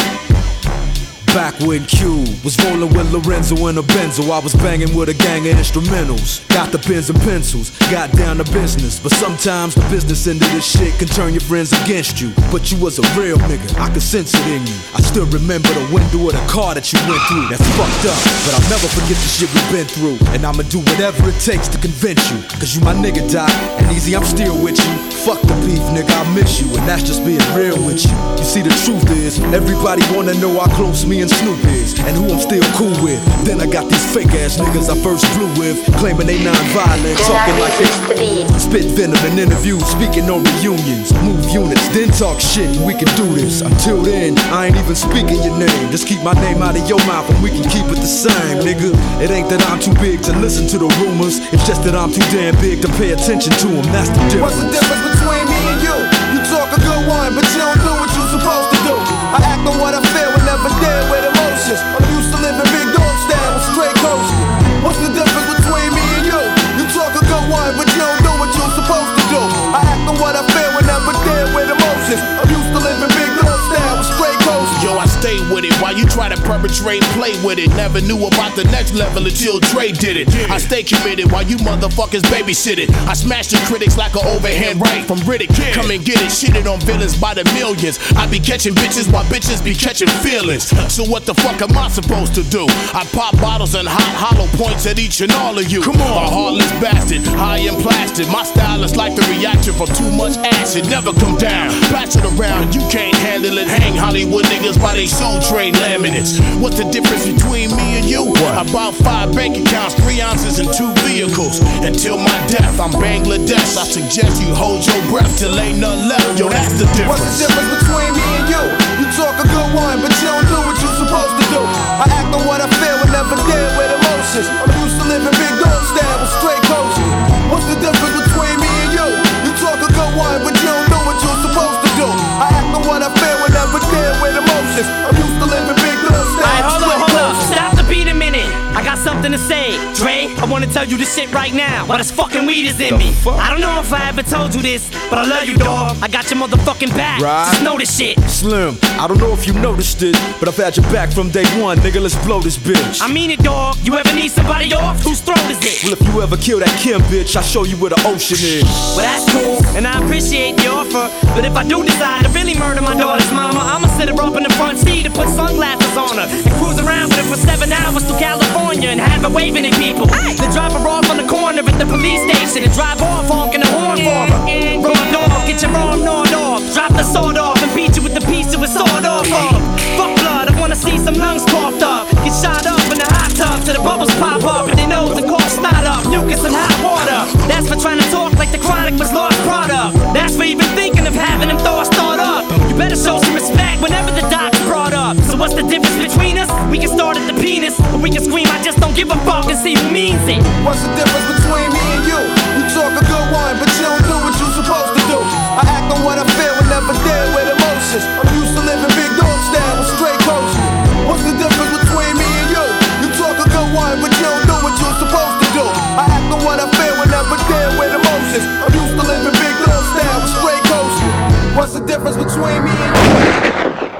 Back when Q was rolling with Lorenzo in a Benzo, I was banging with a gang of instrumentals. Got the pens and pencils, got down to business. But sometimes the business end of this shit can turn your friends against you. But you was a real nigga, I could sense it in you. I still remember the window of the car that you went through. That's fucked up, but I'll never forget the shit we've been through. And I'ma do whatever it takes to convince you. Cause you my nigga, Doc, and easy, I'm still with you. Fuck the beef, nigga, I miss you. And that's just being real with you. You see, the truth is, everybody wanna know how close me and Snoop is, and who I'm still cool with. Then I got these fake ass niggas I first blew with, claiming they non-violent, talking like they spit venom in interviews, speaking on reunions, move units, then talk shit. We can do this. Until then, I ain't even speaking your name. Just keep my name out of your mouth, and we can keep it the same, nigga. It ain't that I'm too big to listen to the rumors. It's just that I'm too damn big to pay attention to them. That's the difference. What's the difference between me and you? You talk a good one, but you don't do what you supposed to do. I act on what I feel and never deal with emotions. I'm used to living big dog style with straight coasting. What's the difference between me and you? You talk a good one, but you don't do what you're supposed to do. I act on what I feel and never deal with emotions. I'm used to living big dog style with straight coasting. Yo, I stay with it while you try to perpetrate, play with it. Never knew about the next level until Dre did it. I stay committed while you motherfuckers babysit it. I smash the critics like an overhand right from Riddick. Come and get it, shitted on villains by the millions. I be catching bitches while bitches be catching feelings. So what the fuck am I supposed to do? I pop bottles and hot hollow points at each and all of you. Come on, a heartless bastard, high and plastic. My style is like the reaction from too much acid. Never come down, patch it around, you can't handle it. Hang Hollywood niggas by they soul train laminates. What's the difference between me and you? What? About five bank accounts, three ounces, and two vehicles. Until my death, I'm Bangladesh. I suggest you hold your breath till ain't none left. Yo, that's the difference. What's the difference between me and you? You talk a good one, but you don't do what you're supposed to do. I act on what I feel and never deal with emotions. I'm used to living big dog style with straight coasting. What's the difference between me and you? You talk a good one, but you don't do what you're supposed to do. I act on what I feel and never deal with emotions. I'm used to living big dog style. Alright, hold up, hold up. Stop the beat a minute. I got something to say. Dre, I wanna tell you this shit right now. While this fucking weed is in me. I don't know if I ever told you this, but I love you, dog. I got your motherfucking back. Right. Just know this shit. Slim, I don't know if you noticed it, but I've had your back from day one, nigga. Let's blow this bitch. I mean it, dog. You ever need somebody off? Whose throat is it? Well, if you ever kill that Kim bitch, I'll show you where the ocean is. Well, that's cool, and I appreciate the offer. But if I do decide to really murder my daughter's mama, I'ma sit her up in the front seat and put sunglasses on her and cruise around with her for seven hours to California and have her waving at people. Then drop her off on the corner at the police station and drive off honking the horn for her. Raw dog, get your arm gnawed off. Drop the sword off and beat you with the piece of a sword off of. Fuck blood, I wanna see some lungs coughed up. Get shot up in the hot tub till the bubbles pop up and their nose and cough snot up. Mucus and hot water. That's for trying to talk like the Chronic was lost product. That's for even thinking of having them thoughts thought up. You better show some respect whenever the doc's brought up. So what's the difference between us? We can start at the penis, or we can scream I just don't give a fuck and see who means it. What's the difference between me and you? You talk a good one, but you don't do what you're supposed to do. I act on what I feel and never deal with emotions. I'm used to living big dog style with straight coasting. What's the difference between me and you? You talk a good one, but you don't do what you're supposed to do. I act on what I feel and never deal with emotions. I'm used to living big dog style with straight coasting. What's the difference between me and you?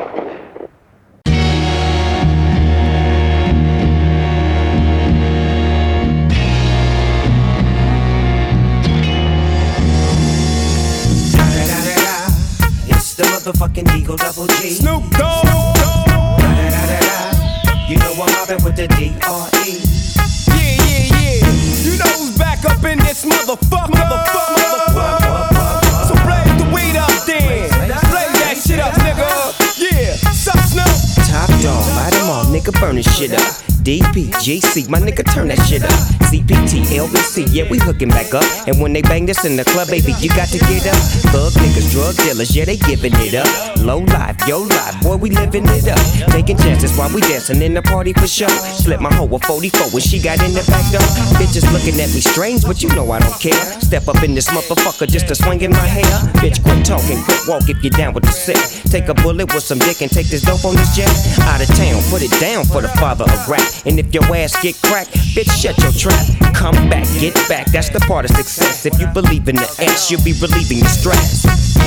Motherfucking Eagle Double G. Snoop Dogg. You know I'm mobbing with the D R E. Yeah, yeah, yeah. You know who's back up in this motherfucker. nigga burning shit up. D P, G C, my nigga turn that shit up. C P T, L B C, yeah, we hooking back up. And when they bang this in the club, baby, you got to get up. Thug niggas, drug dealers, yeah, they giving it up. Low life, yo life, boy, we living it up. Taking chances while we dancing in the party for sure. Slip my hoe a forty-four when she got in the back door. Bitches looking at me strange, but you know I don't care. Step up in this motherfucker just to swing in my hair. Bitch, quit talking, quit walk if you're down with the sick. Take a bullet with some dick and take this dope on this jet. Out of town, put it down for the father of rap. And if your ass get cracked, bitch, shut your trap. Come back, get back, that's the part of success. If you believe in the X, you'll be relieving the stress.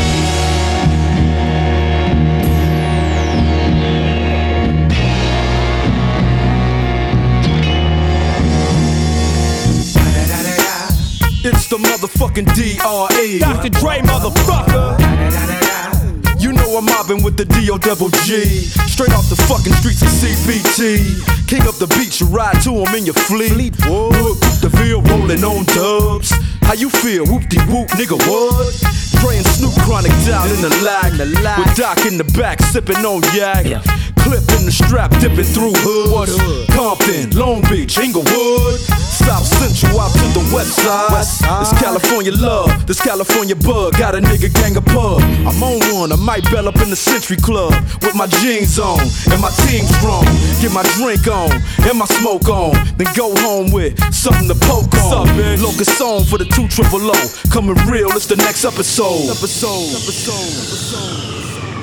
It's the motherfucking D R E. Doctor Dre, motherfucker. You know I'm mobbing with the D O double G. Straight off the fucking streets of C B T. King up the beach, you ride to him in your fleet. Whoop, the field rolling on dubs. How you feel? Whoop-de-whoop, nigga, what? Dre and Snoop Chronic down in the lag. With Doc in the back, sipping on yak. Yeah. Clip in the strap, dipping through hoods. Hood? Compton, Long Beach, Inglewood. South Central out to the west side. West side. This California love, this California bug. Got a nigga gang of pub. I'm on one, I might bell up in the Century Club. With my jeans on, and my team strong. Get my drink on, and my smoke on. Then go home with something to poke on. Locust on for the two triple O. Coming real, it's the next episode. Episode, episode, episode.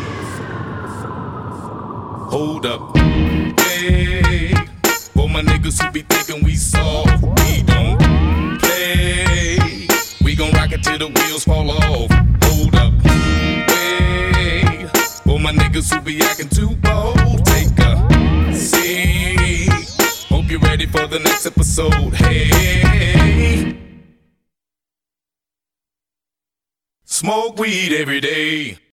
Hold up, hey, for my niggas who be thinking we soft, we don't play. We gon' rock it till the wheels fall off. Hold up, hey, for my niggas who be acting too bold, take a seat. Hope you're ready for the next episode. Hey, smoke weed every day.